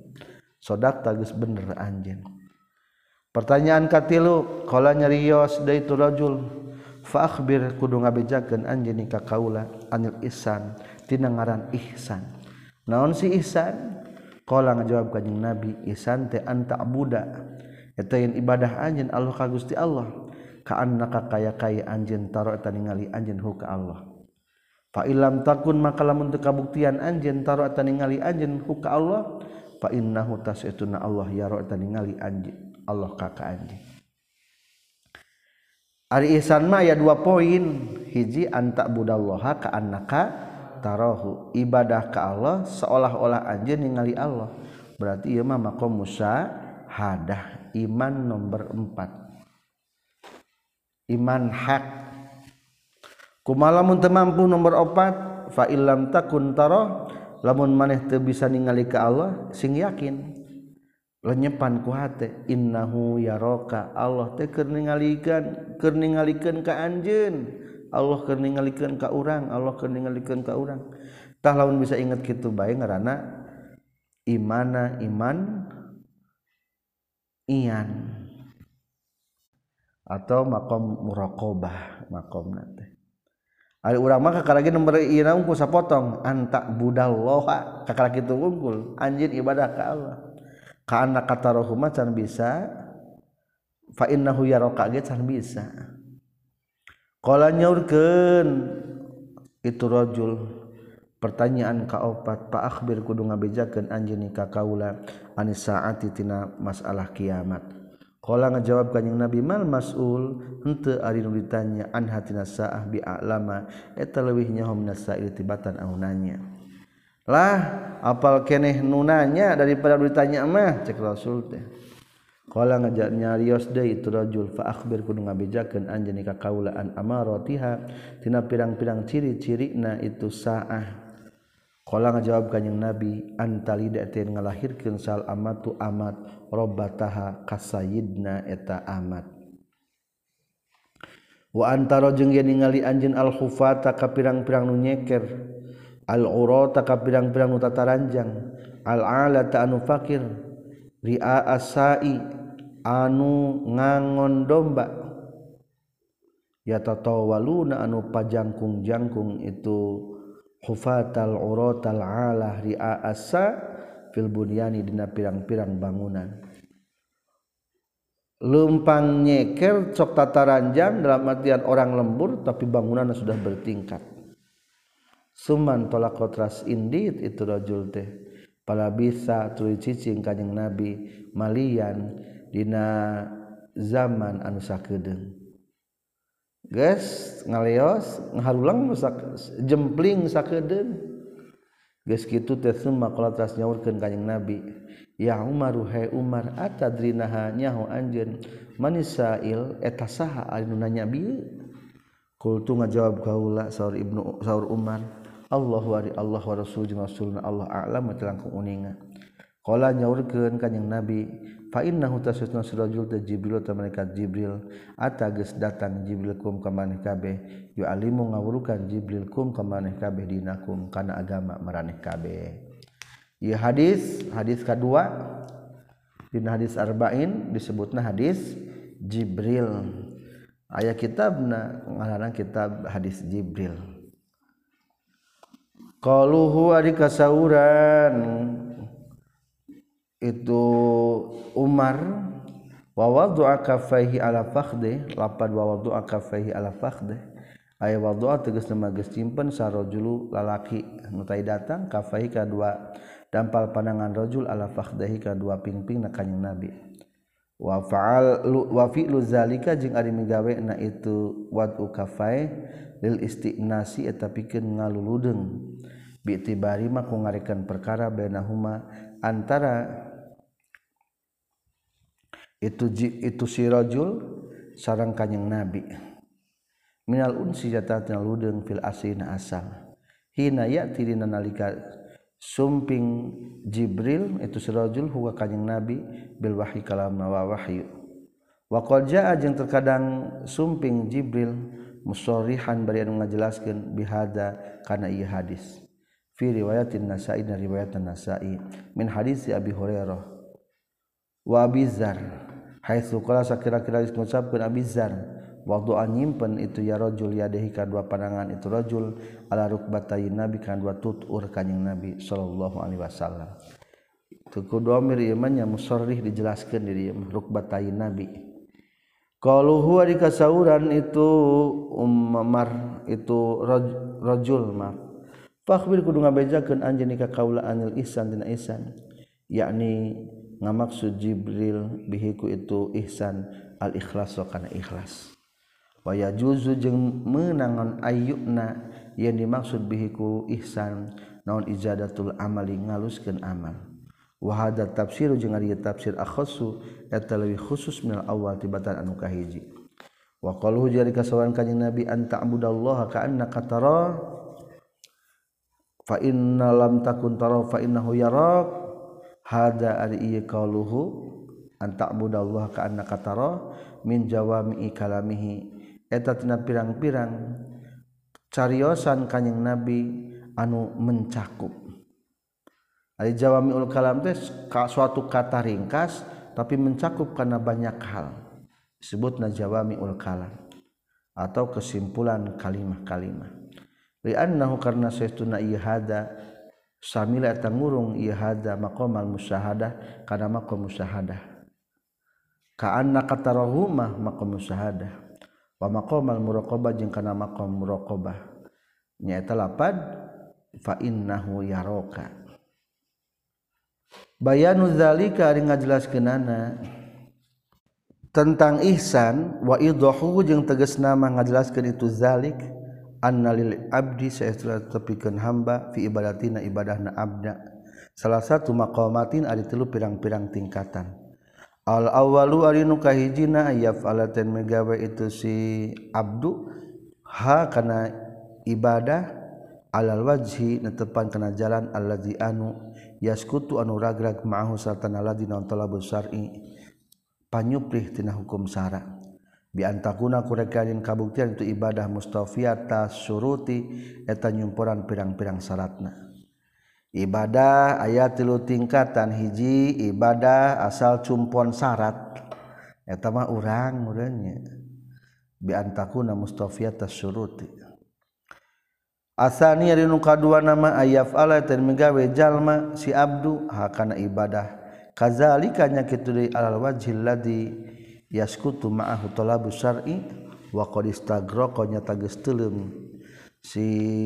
sodaqta geus bener anjeun pertanyaan katilu qala nyarios deui tu rajul fa akhbir kudu ngabejakeun anjeun ka kaula anil ihsan tina ngaran ihsan naon si ihsan qala ngajawab kanjing Nabi ihsan teh anta abuda eta yen ibadah anjeun Allah ka Gusti Allah ka annaka kaya-kaya anjeun taro eta ningali anjeun hu ka Allah fa illam takun maka lamun teu kabuktian anjeun taro eta ningali anjeun hu ka Allah fa innahu tasituna Allah yaro eta ningali anjeun Allah ka ka anjeun ari ihsan mah aya dua poin hiji anta budallaha ka annaka tarahu ibadah ka Allah seolah-olah anjeun ningali Allah berarti ieu mah maqam musyahadah iman nomor empat iman hak kumaha lamun teu mampu nomor opat fa illam takun tarah lamun maneh teu bisa ningali ka Allah sing yakin lenyepan ku hate innahu yaraka Allah teh keur ningalikeun keur ningalikeun ka anjeun Allah keur ningalikeun ka urang Allah keur ningalikeun ka urang tah lamun bisa inget kitu bae ngaranna imana iman ian atau maqam muraqabah maqamna teh ari urang mah kakaragi nomor ieu ku sapotong anta budallaha kakaragi kitu unggul anjeun ibadah ka Allah ka anna katarahu macan bisa fa innahu yaraka ge can bisa qala nyaurkeun itu rajul pertanyaan kaopat pa akhbir kudu ngabejakeun anjeun ka kaula anis saati tina masalah kiamat. Qala ngajawab kanjing Nabi mal mas'ul henteu ari nu ditanya an hatina saah bi a'lama eta leuwih nyaho minasail tibatan anu nanya. Lah apal keneh nu nanya daripada nu ditanya mah cek Rasul teh. Qala ngajak nyarios deui itu rajul fa akhbir kudu ngabejakeun anjeun ka kaula an amaratiha tina pirang-pirang ciri-cirina itu saah. Qala ngajawab kanjing Nabi antalida teh ngalahirkeun sal amatu amat robbataha kasayidna eta amat wa antara jeung yen ningali anjeun al khufata ka pirang-pirang nu nyeker al urata ka pirang-pirang nu tataranjang al alata anu fakir ria asai anu ngangon domba ya tatawaluna anu pajangkung-jangkung itu hufatal uratal alah ria asa fil bunyani dina pirang-pirang bangunan lempang nyeker cok tataranjang dalam artian orang lembur tapi bangunannya sudah bertingkat suman tolak kotras indit itu rajul teh pala bisa tuluy cicing kanjing Nabi malian dina zaman anu sakedeung geus ngaleos ngaharulang jempling sakedeung geus kitu teh summa qala tas nyaurkeun kanjing Nabi ya Umar hai Umar atadrinaha nyaho anjeun manisail eta saha anu nanya bieu qultu ngajawab kaula saur ibnu saur Umar Allahu wa Allah wa rasul rasulna Allah a'lam telangkung uninga qala nyaurkeun kanjing Nabi fa innahu tasatna sirajul ta Jibril ta malaikat Jibril ata geus datang Jibril kum ka maneh kabeh yu alimu ngawurukan Jibril kum ka maneh kabeh dinakum kana agama maraneh kabeh. Ieu hadis hadis kadua dina hadis arba'in disebutna hadis Jibril. Aya kitabna ngaranna kitab hadis Jibril. Qaluhu ari kasauran itu Umar wa wadu'a kaffaihi ala fakhdi lapad wa wadu'a kaffaihi ala fakhdi aya wadu'a tegasna mah geus simpen sarojulu lalaki nu tai datang kaffaihi kadua dampal pandangan rajul ala fakhdihi kadua pingpingna kanjing Nabi wa fa'al wa fi'lu zalika jeung ari migawena itu wad'u kaffai lil istinasi eta pikeun ngaluludeung bi tibari mah ku ngarekan perkara bainahuma antara itu itu si rajul sareng kanjing Nabi minal unsi jatatina ludeung fil asina asal hina ya'ti dina nalika sumping Jibril itu si rajul huwa kanjing Nabi bil wahyi kalamna wa wahyu wa qad jaa jeung terkadang sumping Jibril musarrihan bari anu ngajelaskeun bihada kana ieu hadis fi riwayatin Nasa'i dan riwayat Nasa'i min hadis Abi Hurairah wa Abi Dzar haitsu qala sakira-kira ngucapkeun Abi Dzar waktu nyimpen itu ya rajul yadehi ka dua pandangan itu rajul ala rukbatai Nabi kan dua tutur kanjing Nabi sallallahu alaihi wasallam itu kudu amir ieu mah nya musarrih dijelaskeun di dieu rukbatai Nabi qaluhu ari kasauran itu Umar itu rajul mah fakhbir kudu ngabejakeun anjeun ka kaula anil ihsan dina ihsan yakni ngamaksud Jibril bihiku itu ihsan al ikhlas kana ikhlas wa yajuzu jeung meunangon ayyuna yang dimaksud bihiku ihsan naon ijadatul amali ngaluskeun amal wa hada tafsir jeung ari tafsir akhassu eta leuwih khusus minal awal tibatan anu kahiji wa qaluhu jari kasawan kanjing Nabi anta abudallaha ka annaka tara fa inna lam takun tara fa innahu yarak hada ari ieu qauluhu anta'budallaha ka annaka tara min jawami'i kalamihi eta tina pirang-pirang cariosan kanjing Nabi anu mencakup ari jawami'ul kalam teh suatu kata ringkas tapi mencakup kana banyak hal disebutna jawami'ul kalam atau kesimpulan kalimah-kalimah li annahu karna saestuna ieu hada samila eta ngurung ieu hada maqamal musyahadah kana maqam musyahadah ka anna qatarahuma maqam musyahadah wa maqamal muraqabah jeung kana maqam muraqabah nyaeta lapad fa innahu yaraka. Bayanu zalika ari ngajelaskeunana tentang ihsan wa idahu jeung tegasna mah ngajelaskeun itu zalik annalil abdi saestuna tepikeun hamba fi ibadatina ibadahna abda salah satu maqamatin ari tilu pirang-pirang tingkatan. Al awalu ari nu kahijina ayaf'alaten megawe itu si abdu ha kana ibadah alal wajhi netepan kana jalan allazi anu yaskutu anu ragrag ma'ahu sartana ladina talabus syar'i panyuprih tina hukum syara bi antakuna kurekanin kabuktian itu ibadah mustafiyata syuruti eta nyumpuran pirang-pirang syaratna. Ibadah aya tilu tingkatan. Hiji ibadah asal cumpon syarat eta mah urang urangnya bi antakuna mustafiyata syuruti. Asani ari nu kadua nama ayaf'ala tan megawe jalma si abdu hakana ibadah kazalika nya kitu deui alal wajhil ladzi yaskutu ma'ahu talabus syar'i wa qad istaghraqa nya tageus teuleum si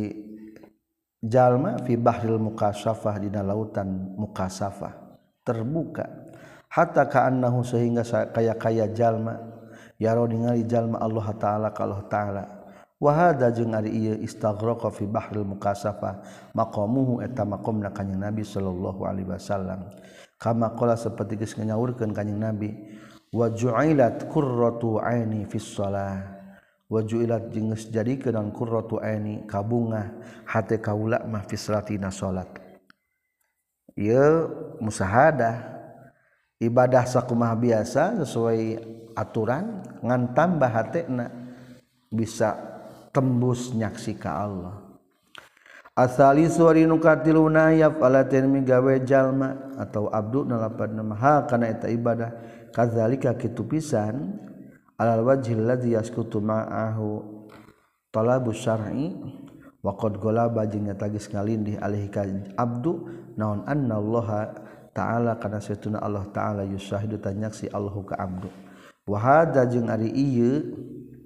jalma fi bahril mukasafah dina lautan mukasafah terbuka hatta ka'annahu sehingga kaya-kaya jalma yaro ningali jalma Allah taala ka Allah taala. Wa hadza jeung ari ieu istaghraqa fi bahril mukasafah maqamuhu eta maqamna kanjing Nabi sallallahu alaihi wasallam kama qala saperti geus nyaurkeun kanjing Nabi wa ju'ilat qurratu aini fis shalah wa ju'ilat jeung geus jadikeun qurratu aini kabungah hate kaula mah fi salatina salat. Ieu musahadah ibadah sakumaha biasa sesuai aturan ngan tambah hatena bisa tembus nyaksi ka Allah. Asali suari nu katiluna yaf'alaten migawe jalma atau abdu nalapadna maha kana eta ibadah kadzalika kitu pisan alal wajhil ladzi yaskutu ma'ahu talabus syar'i wa qad ghalaba jeung nya tagis ngalindih alaihi ka abdu naon anna Allah taala kana satuna Allah taala yusahidu tanyaksi Allahu ka abdu. Wa hadza jeung ari ieu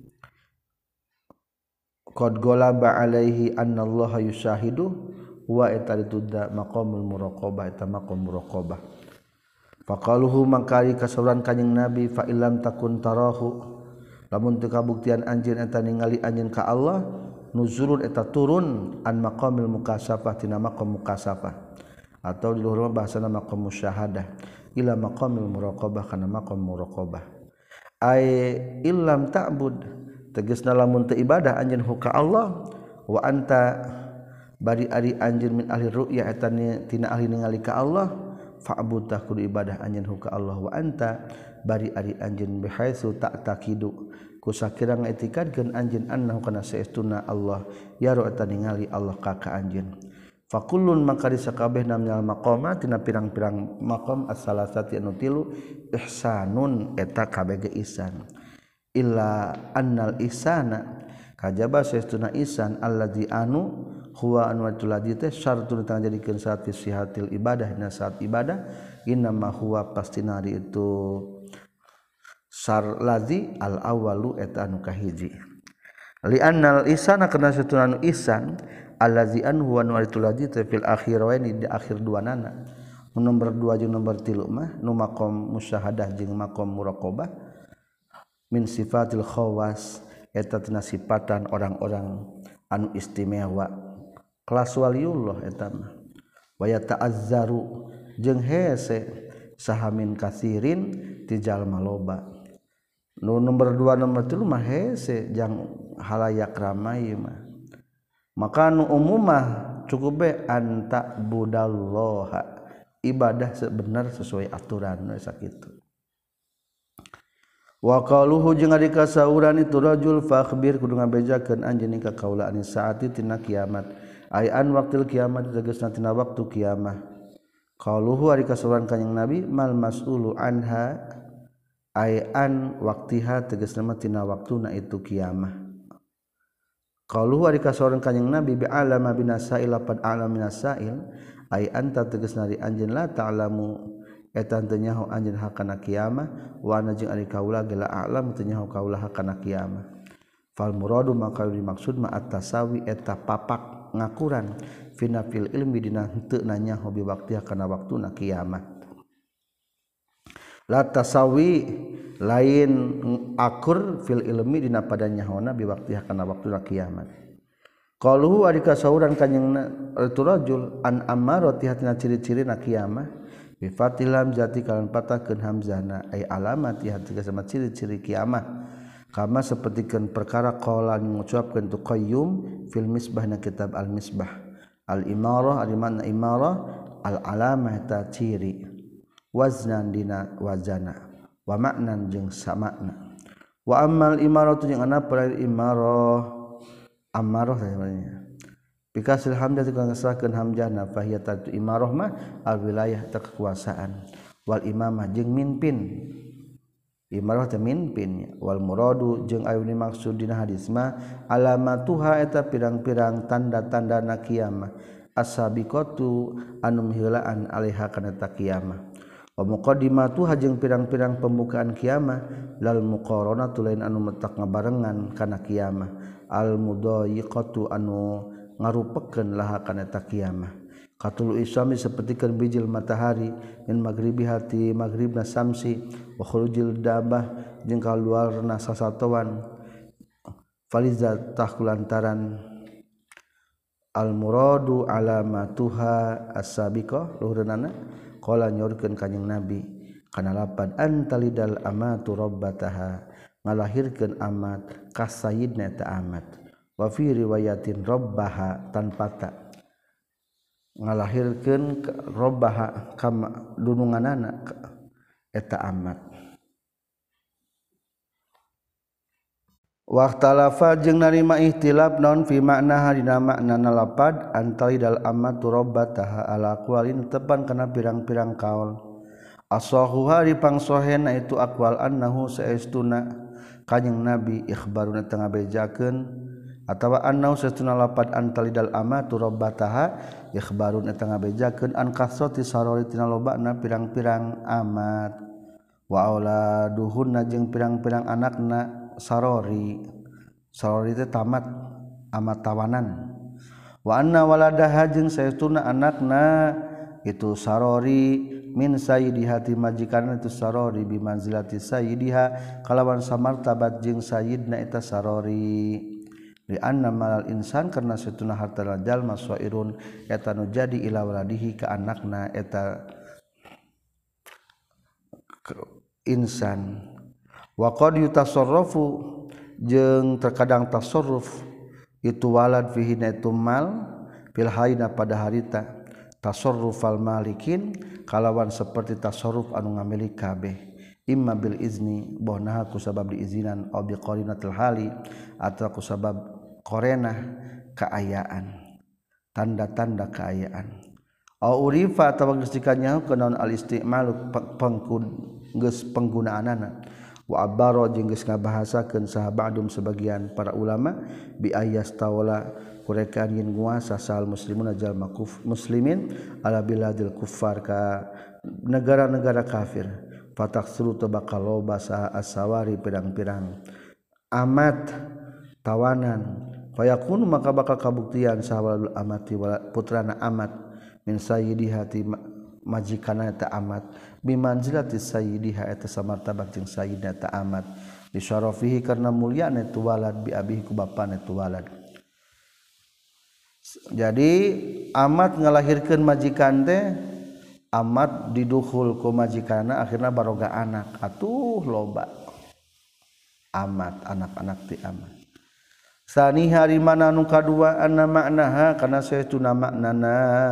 qad ghalaba alaihi anna Allah yushahidu wa etadudda maqamul muraqabah eta maqam muraqabah. Faqaluhu mangkali kasauran kanjing Nabi fa illam takun tarahu lamun teu kabuktian anjeun eta ningali anjeun ka Allah nuzulun eta turun an maqamil mukasafah tina maqam mukasafah atau di luhur bahasana maqam musyahadah ila maqamil muraqabah kana maqam muraqabah ay illam ta'bud tegasna lamun teu ibadah anjeun ka Allah wa anta bari ari anjeun min ahli ru'ya eta tina ahli ningali ka Allah fa'bud kudu ibadah anjeun ka Allah wa anta bari ari anjeun bihaitsu ta'taqidu kusakira ngaetikadkeun anjeun annahu kana saestuna Allah yaro eta ningali Allah ka ka anjeun fakullun maka disakabehna minal maqamat tina pirang-pirang maqam as-salasati anu tilu ihsanun eta kabeh ge ihsan illa annal ihsana kajaba saestuna ihsan alladzi anu huwa anwatul ladzi teh syartun tang jadikeun syarat sihatil ibadah dina saat ibadah inna ma huwa pastina itu syar ladzi al awalu eta anu kahiji li annal ihsana kana saestuna anu ihsan allazi an huwa nu'aritul ladzi fil akhiraini di akhir duanana nomor dua jeung nomor tilu mah nu maqam musyahadah jeung maqam muraqabah min sifatil khawas eta tina sifatan orang-orang anu istimewa kelas waliullah eta mah wa yata'azzaru jeung hese sahamin kasirin ti jalma loba nu nomor dua nomor tilu mah hese jang halayak ramai mah maka nu umumah cukup be anta budallaha ibadah sebenar sesuai aturan we sakitu. Wa qaluhu jeung ari kasauran itu rajul fakhbir kudu ngabejakeun anjeun ka kaula anis saati tina kiamat ay an waqtil kiamat tegasna tina waktu kiamah. Qaluhu ari kasauran kanjing Nabi mal mas'ulu anha ay an waqtiha tegasna tina waktuna itu kiamah. Qaluhu ari kasauran kanjing Nabi bi alama binasail lapad alam binasail ay anta tegasna ari anjeun la ta'lamu eta teu nyaho anjeun hakana kiamah wa ana jeung ari kaula geula a'lam teu nyaho kaula hakana kiamah fal muradu maka dimaksud ma at-tasawi eta papak ngakuran fina fil ilmi dina henteu nanya hobi waktu kana waktuna kiamat. La tasawi lain akur fil ilmi dina pada nyahona bi waktu kana waktuna kiamat. Qaluhu ari kasauran kanjing itu rajul an amarati hatina ciri-cirina kiamat bi fatilam jati kalan patakeun hamzahna ay alamati hatina sama ciri-ciri kiamat. Kama sapertikeun perkara qala ngucapkeun tu qayyum fil misbahna kitab al misbah al imarah ari makna imarah al alamah ta ciri waznan dina wazana wa maknan jeung samakna wa ammal imaratu jeung ana pada imarah amarah namanya bikasil hamzah tukang ngasahkeun hamzahna fahiyatu imarah mah al wilayah ta kekuasaan wal imamah jeung mimpin imarah teh mimpin wal muradu jeung aya maksud dina hadis mah alamatuha eta pirang-pirang tanda-tandana kiamah as-sabiqatu anu miheulaan alaiha kana ta kiamah wa muqaddimatuha jeung pirang-pirang pembukaan kiamah lal muqaranatu lain anu metak ngabarengan kana kiamah al mudayyiqatu anu ngarupekeun laha kana ta kiamah katul isyami sapertikeun bijil matahari min maghribi hati maghribna samsi wa khurujil dabah jeung kaluarna sasatoan faliza tahkulantaran al muradu alamatuha as-sabiqah luhurna qala nyorkeun kanjing nabi kana lapan antalidal amatu rabbataha ngalahirkeun amat ka sayyidna ta amat wa fi riwayatin rabbaha tanpa ta ngalahirkeun robbaha kama dununganana eta amat waqtalafa jeung narima ihtilaf naon fi makna dina maknana lapad antalidal amatu rabbataha ala aqwalin tepan kana pirang-pirang kaul asahuha dipangsohena itu aqwal annahu saestuna kanjing nabi ikhbaruna tengah bejakeun atawa annahu saestuna lapad antalidal amatu rabbataha ikhbarun eta ngabejakeun an kasrati sarori tina lobana pirang-pirang amat wa auladuhunna jeung pirang-pirang anakna sarori sarori teh tamat amat tawanan wa anna waladaha jeung saestuna anakna itu sarori min sayyidiha ti majikanna itu sarori bi manzilati sayyidiha kalawan samartabat jeung sayyidna eta sarori li anna malal insan karena satuna harta jalma sairun eta nu jadi ila waladihi ka anakna eta insan wa qad yutasarrafu jeung terkadang tasarruf itu walad fihi naitu mal fil hayna pada harita tasarrufal malikin kalawan seperti tasarruf anu ngamilik kabeh imma bil izni bohna ku sabab diizinan au bi qarinatil hali atau ku sabab korena keayaan tanda-tanda keayaan au urifa atawa geus dikanyaho kenaon al istimalu geus penggunaanana wa abaro jeung geus ngabahasakeun sahabadum sebagian para ulama bi ayas tawala kurekan yin nguasa sal muslimun jalma muslimin ala biladil kuffar ka negara-negara kafir fataksuru tabaqal loba asawari pirang-pirang amat tawanan fayakunu maka bakal kabuktian sahwalul amati putrana amat min sayyidiha ti majikana ta amat bimanzilati sayyidiha eta samartabat jeung sayyidna ta amat bi syarafihi karna mulyana tu walad bi abihi ku bapana tu walad. Jadi amat ngalahirkeun majikan teh amat diduhul ku majikana akhirna baroga anak atuh loba amat anak-anak ti amat. Sani hari mana nu kadua anna maknaha kana saestuna maknana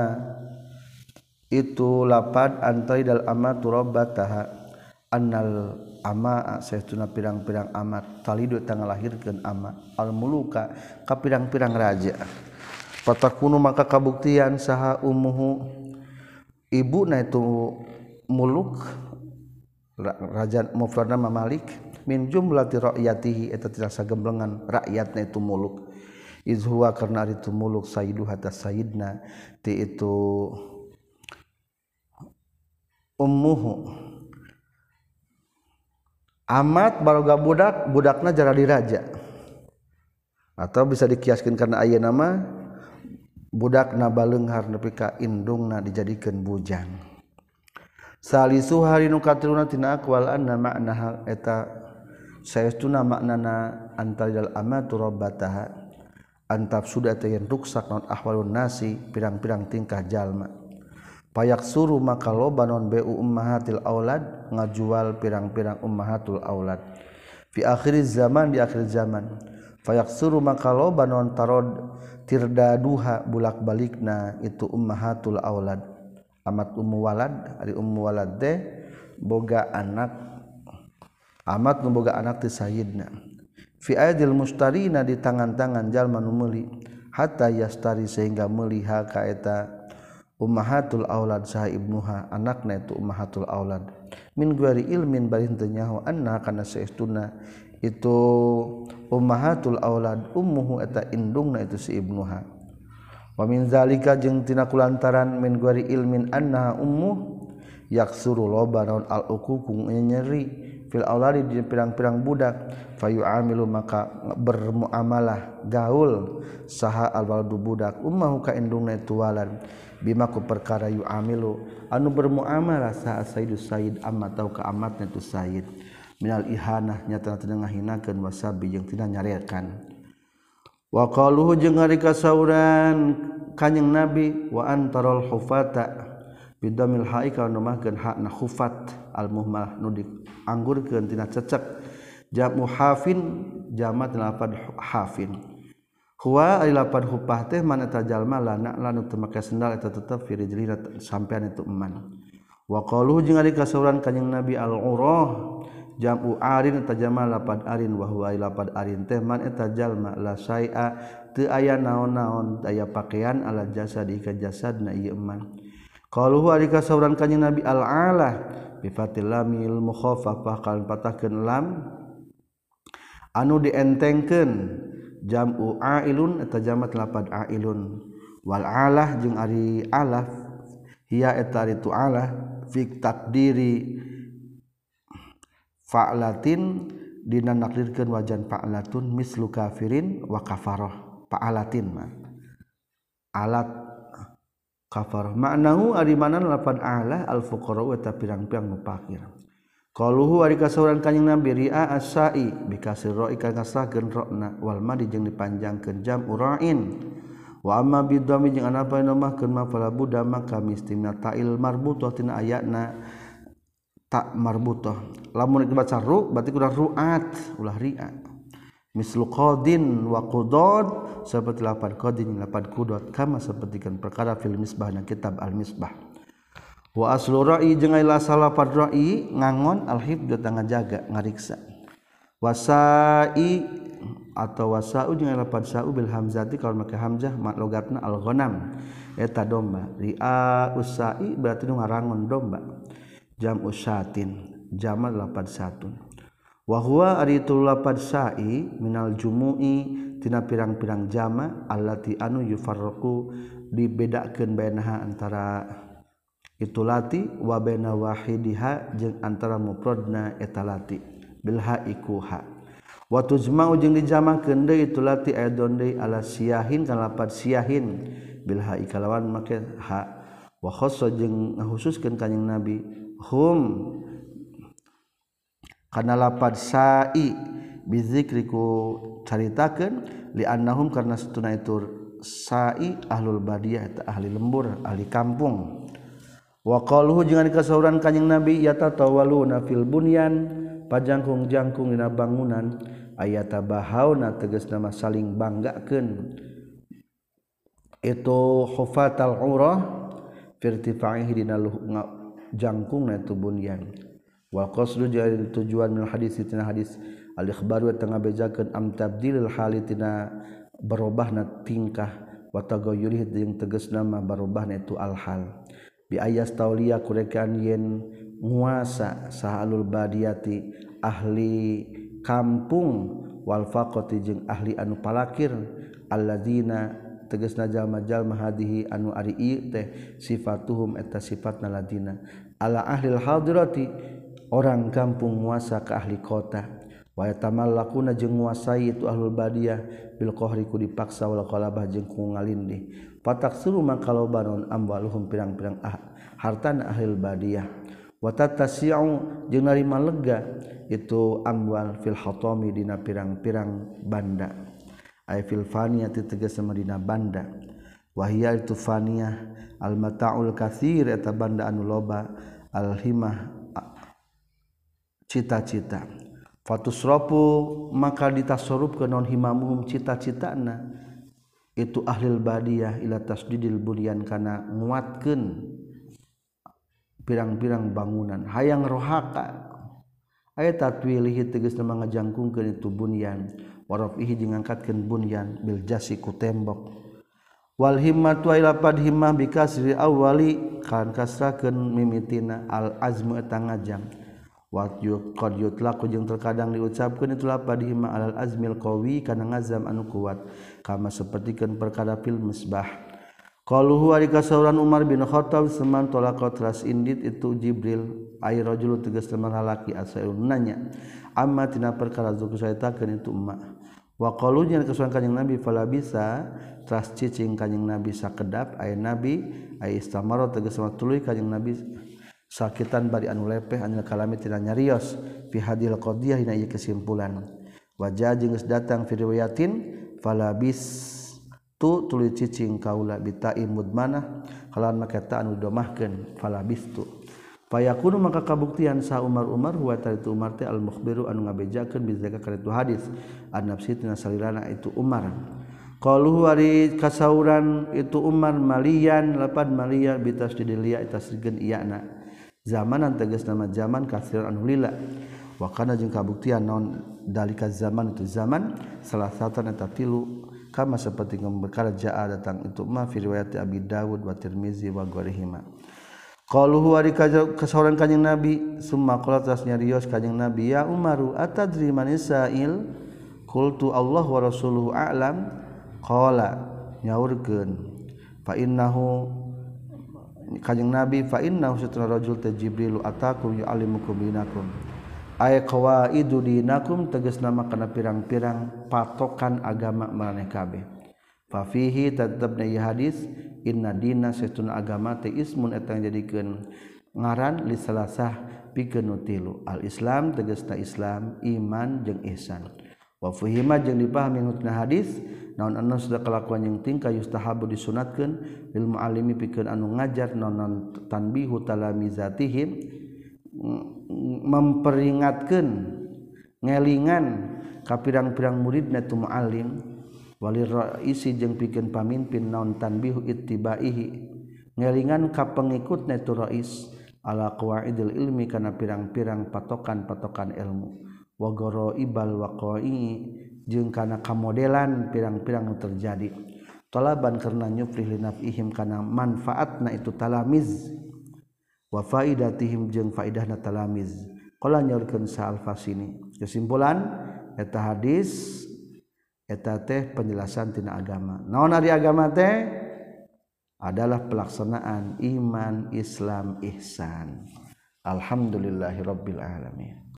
itu lapad antaidal amatu rabbataha annal ama saestuna pirang-pirang amat talidu tang ngalahirkeun ama al muluka ka pirang-pirang raja patakunu maka kabuktian saha ummuhu ibuna itu muluk raja mufradna mamalik min jumlati ra'yatihi eta tidak sagemblengan rakyatna itu muluk izhuwa karena itu muluk sayyidu hatta sayyidna ti itu ummuhu amat baroga budak budakna jadi raja atau bisa dikiaskan karena aya nama budak na baleunghar nepi ka indungna dijadikeun bujang. Salisu hari nu katiluna tina aqwal anna makna eta saestuna maknana antalil amatu rabbataha antaf sudah teh ruksak naon ahwalun nasi pirang-pirang tingkah jalma. Payak suruh maka loba non bu ummahatil aulad ngajual pirang-pirang ummahatul aulad fi akhir zaman di akhir zaman fayak suruh maka loba non tarod tirdaduha bulak balikna itu ummahatul aulad amat ummu walad ari ummu walad teh boga anak amat nu boga anak ti sayyidna fi aidil mustarina di tangan-tangan jalma nu meuli hatta yastari sehingga meuli ha ka eta ummahatul aulad saha ibnuha anakna itu ummahatul aulad min guari ilmin bari teu nyaho anna kana saestuna itu ummahatul aulad ummuhu eta indungna itu si ibnuha wa min zalika jeung tina kulantaran min guari ilmin anna ummu yaksuru loba naon al uququ nyeri fil auladi di pirang-pirang budak fayu'amilu maka bermuamalah gaul saha al waladu budak ummahu ka indungna itu walad bima ku perkara yu'amilu anu bermuamalah saha sayyidus sayyid amma tau ka amatna tu sayyid minal ihanah nyata teu ngahinakeun wasabi jeung tina nyareakan wa qaluhu jeung ari kasauran kanjing nabi wa antarul hufata bidamil haika anu mahkeun hakna khufat al muhmalah nu dianggurkeun tina cecek jamu hafin jamat lafad hafin huwa ari lapad hupah teh mana eta jalma lana lanu teu make sendal eta tetep fi rijlina sampean itu eman wa qaluhu jeung ari kasauran kanjing nabi al urah jamu arin eta jalma lapad arin wa huwa lapad arin teh man eta jalma la syai'a teu aya naon-naon aya pakaian ala jasadi ka jasadna ieu eman qaluhu ari kasauran kanjing nabi al alah bi fatil lamil mukhaffafah kal patahkeun lam anu dientengkeun jamu ailun eta jamat lapad ailun wal alah jeung ari alaf hiya eta itu alah fi takdiri fa'latin dina nakdirkeun wajan fa'latun mislu kafirin wa kafarah fa'alatin mah alat kafarah maknahu ari mana lapad alah al fuqara eta pirang-pirang nu fakir qaluhu ari kasauran kanjing nabi ri'a as-sa'i bikasir ra'i ka ngasahkeun ra'na wal madi jeung dipanjangkeun jam ura'in wa amma bidami jeung anapa namahkeun ma fala budda maka mistimna ta'il marbutah tina ayatna ta marbutah lamun dibaca ru berarti kudu ru'at ulah ri'a mislu qadin wa qudad saperti lapad qadin lapad qudad kama sapertikeun perkara fil misbah na kitab al misbah wa aslu ra'i jeung ila salafad ra'i ngangon al-hifdz tangga jaga ngariksa wasai atau wasau jeung ila lapad sau bil hamzati kalau make hamzah mak logatna al-ghanam eta domba ri'a usai berarti nu ngarangon domba jam usyatin jamal lapad satun wa huwa ari tu lapad sa'i minal jumu'i tina pirang-pirang jama allati anu yufarraqu dibedakeun bainaha antara itu lati wa baina wahidiha jeung antara mufradna eta lati bil haiku ha wa tujma'u jeung dijamakeun deui itu lati aidon deui ala siyahin kana lapad siyahin bil hai kalawan make ha wa khassa jeung ngahususkeun kanjing nabi hum kana lapad sa'i bizikriku caritakeun li annahum karna satuna itu sa'i ahlul badiyah eta ahli lembur ahli kampung wa qaluhu jeung kasauran kanjing nabi yatatawaluna fil bunyan pajangkung-jangkung dina bangunan ayata bahauna tegasna mah saling banggakeun itu hufatal urah firtifa'ihi dina jangkungna itu bunyan wa qasdu jadi tujuan min hadis tina hadis al ikhbaru tengah bejakeun am tabdilil halitina berubahna tingkah wa tagayyurih jeung tegasna mah berubahna itu al hal bi ayas tauliya kurekan yen nguasa sahalul badiyati ahli kampung wal faqati jeung ahli anu palakir alladzina tegasna jalma-jalma hadihi anu ari ieu teh sifatuhum eta sifatna ladina ala ahli hadirati orang kampung nguasa ke ahli kota wa yatamallakuna jeung nguasai itu ahlul badiyah bil qahri ku dipaksa wal qalabah jeung ku ngalindih fataksuru mangkalo banon amwaluhum pirang-pirang ah, hartana ahlul badiyah wa tatasi'u jeung narima lega itu amwal fil hatami dina pirang-pirang banda ay fil faniyati tegasna dina banda wa hiya itu faniyah al mata'ul katsir eta banda anu loba al himah cita-cita fatusrafu maka ditasarrufkeun non himamuhum cita-citana itu ahlul badiyah ila tasdidil bunyan kana nguatkeun pirang-pirang bangunan hayang rohaka aya tatwilihi tegasna mangajangkungkeun itu bunyan warafihi jeung ngangkatkeun bunyan bil jasi ku tembok wal himmatu ila pad himmah bikasri awwali kan kasrakeun mimitina al azmu eta ngajang wa qad yutlaqu jeung terkadang diucapkeun itu lapad himmah alal azmil qawi kana ngazam anu kuat kama sapertikeun perkara fil misbah qaluhu ari kasauran Umar bin Khattab seman tolaqat ras indit itu Jibril ay rajul tegas teman lalaki asaun nanya amma tina perkara zuku saitakeun itu emak wa qalu jeung kesuan kanjing Nabi fala bisa tras cicing kanjing Nabi sakedap ay Nabi ay istamara tegas tuluy kanjing Nabi sakitan bari anu lepeh anu kalami tina nyarios fi hadil qadiyah dina ieu kesimpulan wajah jeung geus datang fi riwayatin fala bis tu tuluy cicing kaula bitai mudmanah kalawan make ta anu domahkeun fala bistu fayakunu maka kabuktian sa Umar Umar huwa taritu Umar teh al mukhbiru anu ngabejakeun bizaka karatu hadis an nafsi tina salirana itu Umar qaluhu ari kasauran itu Umar maliyan lapad maliya bitasdidil ya tasdigeun iyana zamanan tegas nama zaman kasir anu lila wa kana jeung kabuktian naon dalika zaman itu zaman salah satu eta tilu kama seperti perkara jaa datang itu ma fi riwayat Abi Dawud wa Tirmizi wa ghairihima qaluhu ari kasauran kanjing Nabi summa qala tas nyarios kanjing Nabi ya Umaru atadri man sa'il qultu Allah wa rasuluhu a'lam qala nyaurkeun fa innahu kanjing Nabi fa innahu satara rajul ta Jibril atakum yu'allimukum dinakum ay qawaidu dinakum tegasna kana pirang-pirang patokan agama maraneh kabeh fa fihi tatabna hadis inna dina satun agama teh ismun eta jadikeun ngaran li salasah pikeun tilu al islam tegasna Islam iman jeung ihsan wa fuhima jeung dipahami nutna hadis naon anu sudah kelakuan yang tingkah yustahabu disunatkeun lil muallimi pikeun anu ngajar naon tanbihu talamizatihim memperingatkeun ngelingan ka pirang-pirang muridna tu muallim walir raisi jeung pikeun pamimpin naon tanbihu ittibaihi ngelingan ka pengikutna tu rais ala qawaidil ilmi kana pirang-pirang patokan-patokan ilmu wa garaibal waqa'i jeung kana kamodelan pirang-pirang nu terjadi talaban karena nyufrih linafihim kana manfaatna itu talamiz wa faidatihim jeung faidahna talamiz qala nyaurkeun sa al-Fasini kesimpulan eta hadis eta teh penjelasan tina agama naon ari agama teh adalah pelaksanaan iman Islam ihsan alhamdulillahirabbil alamin.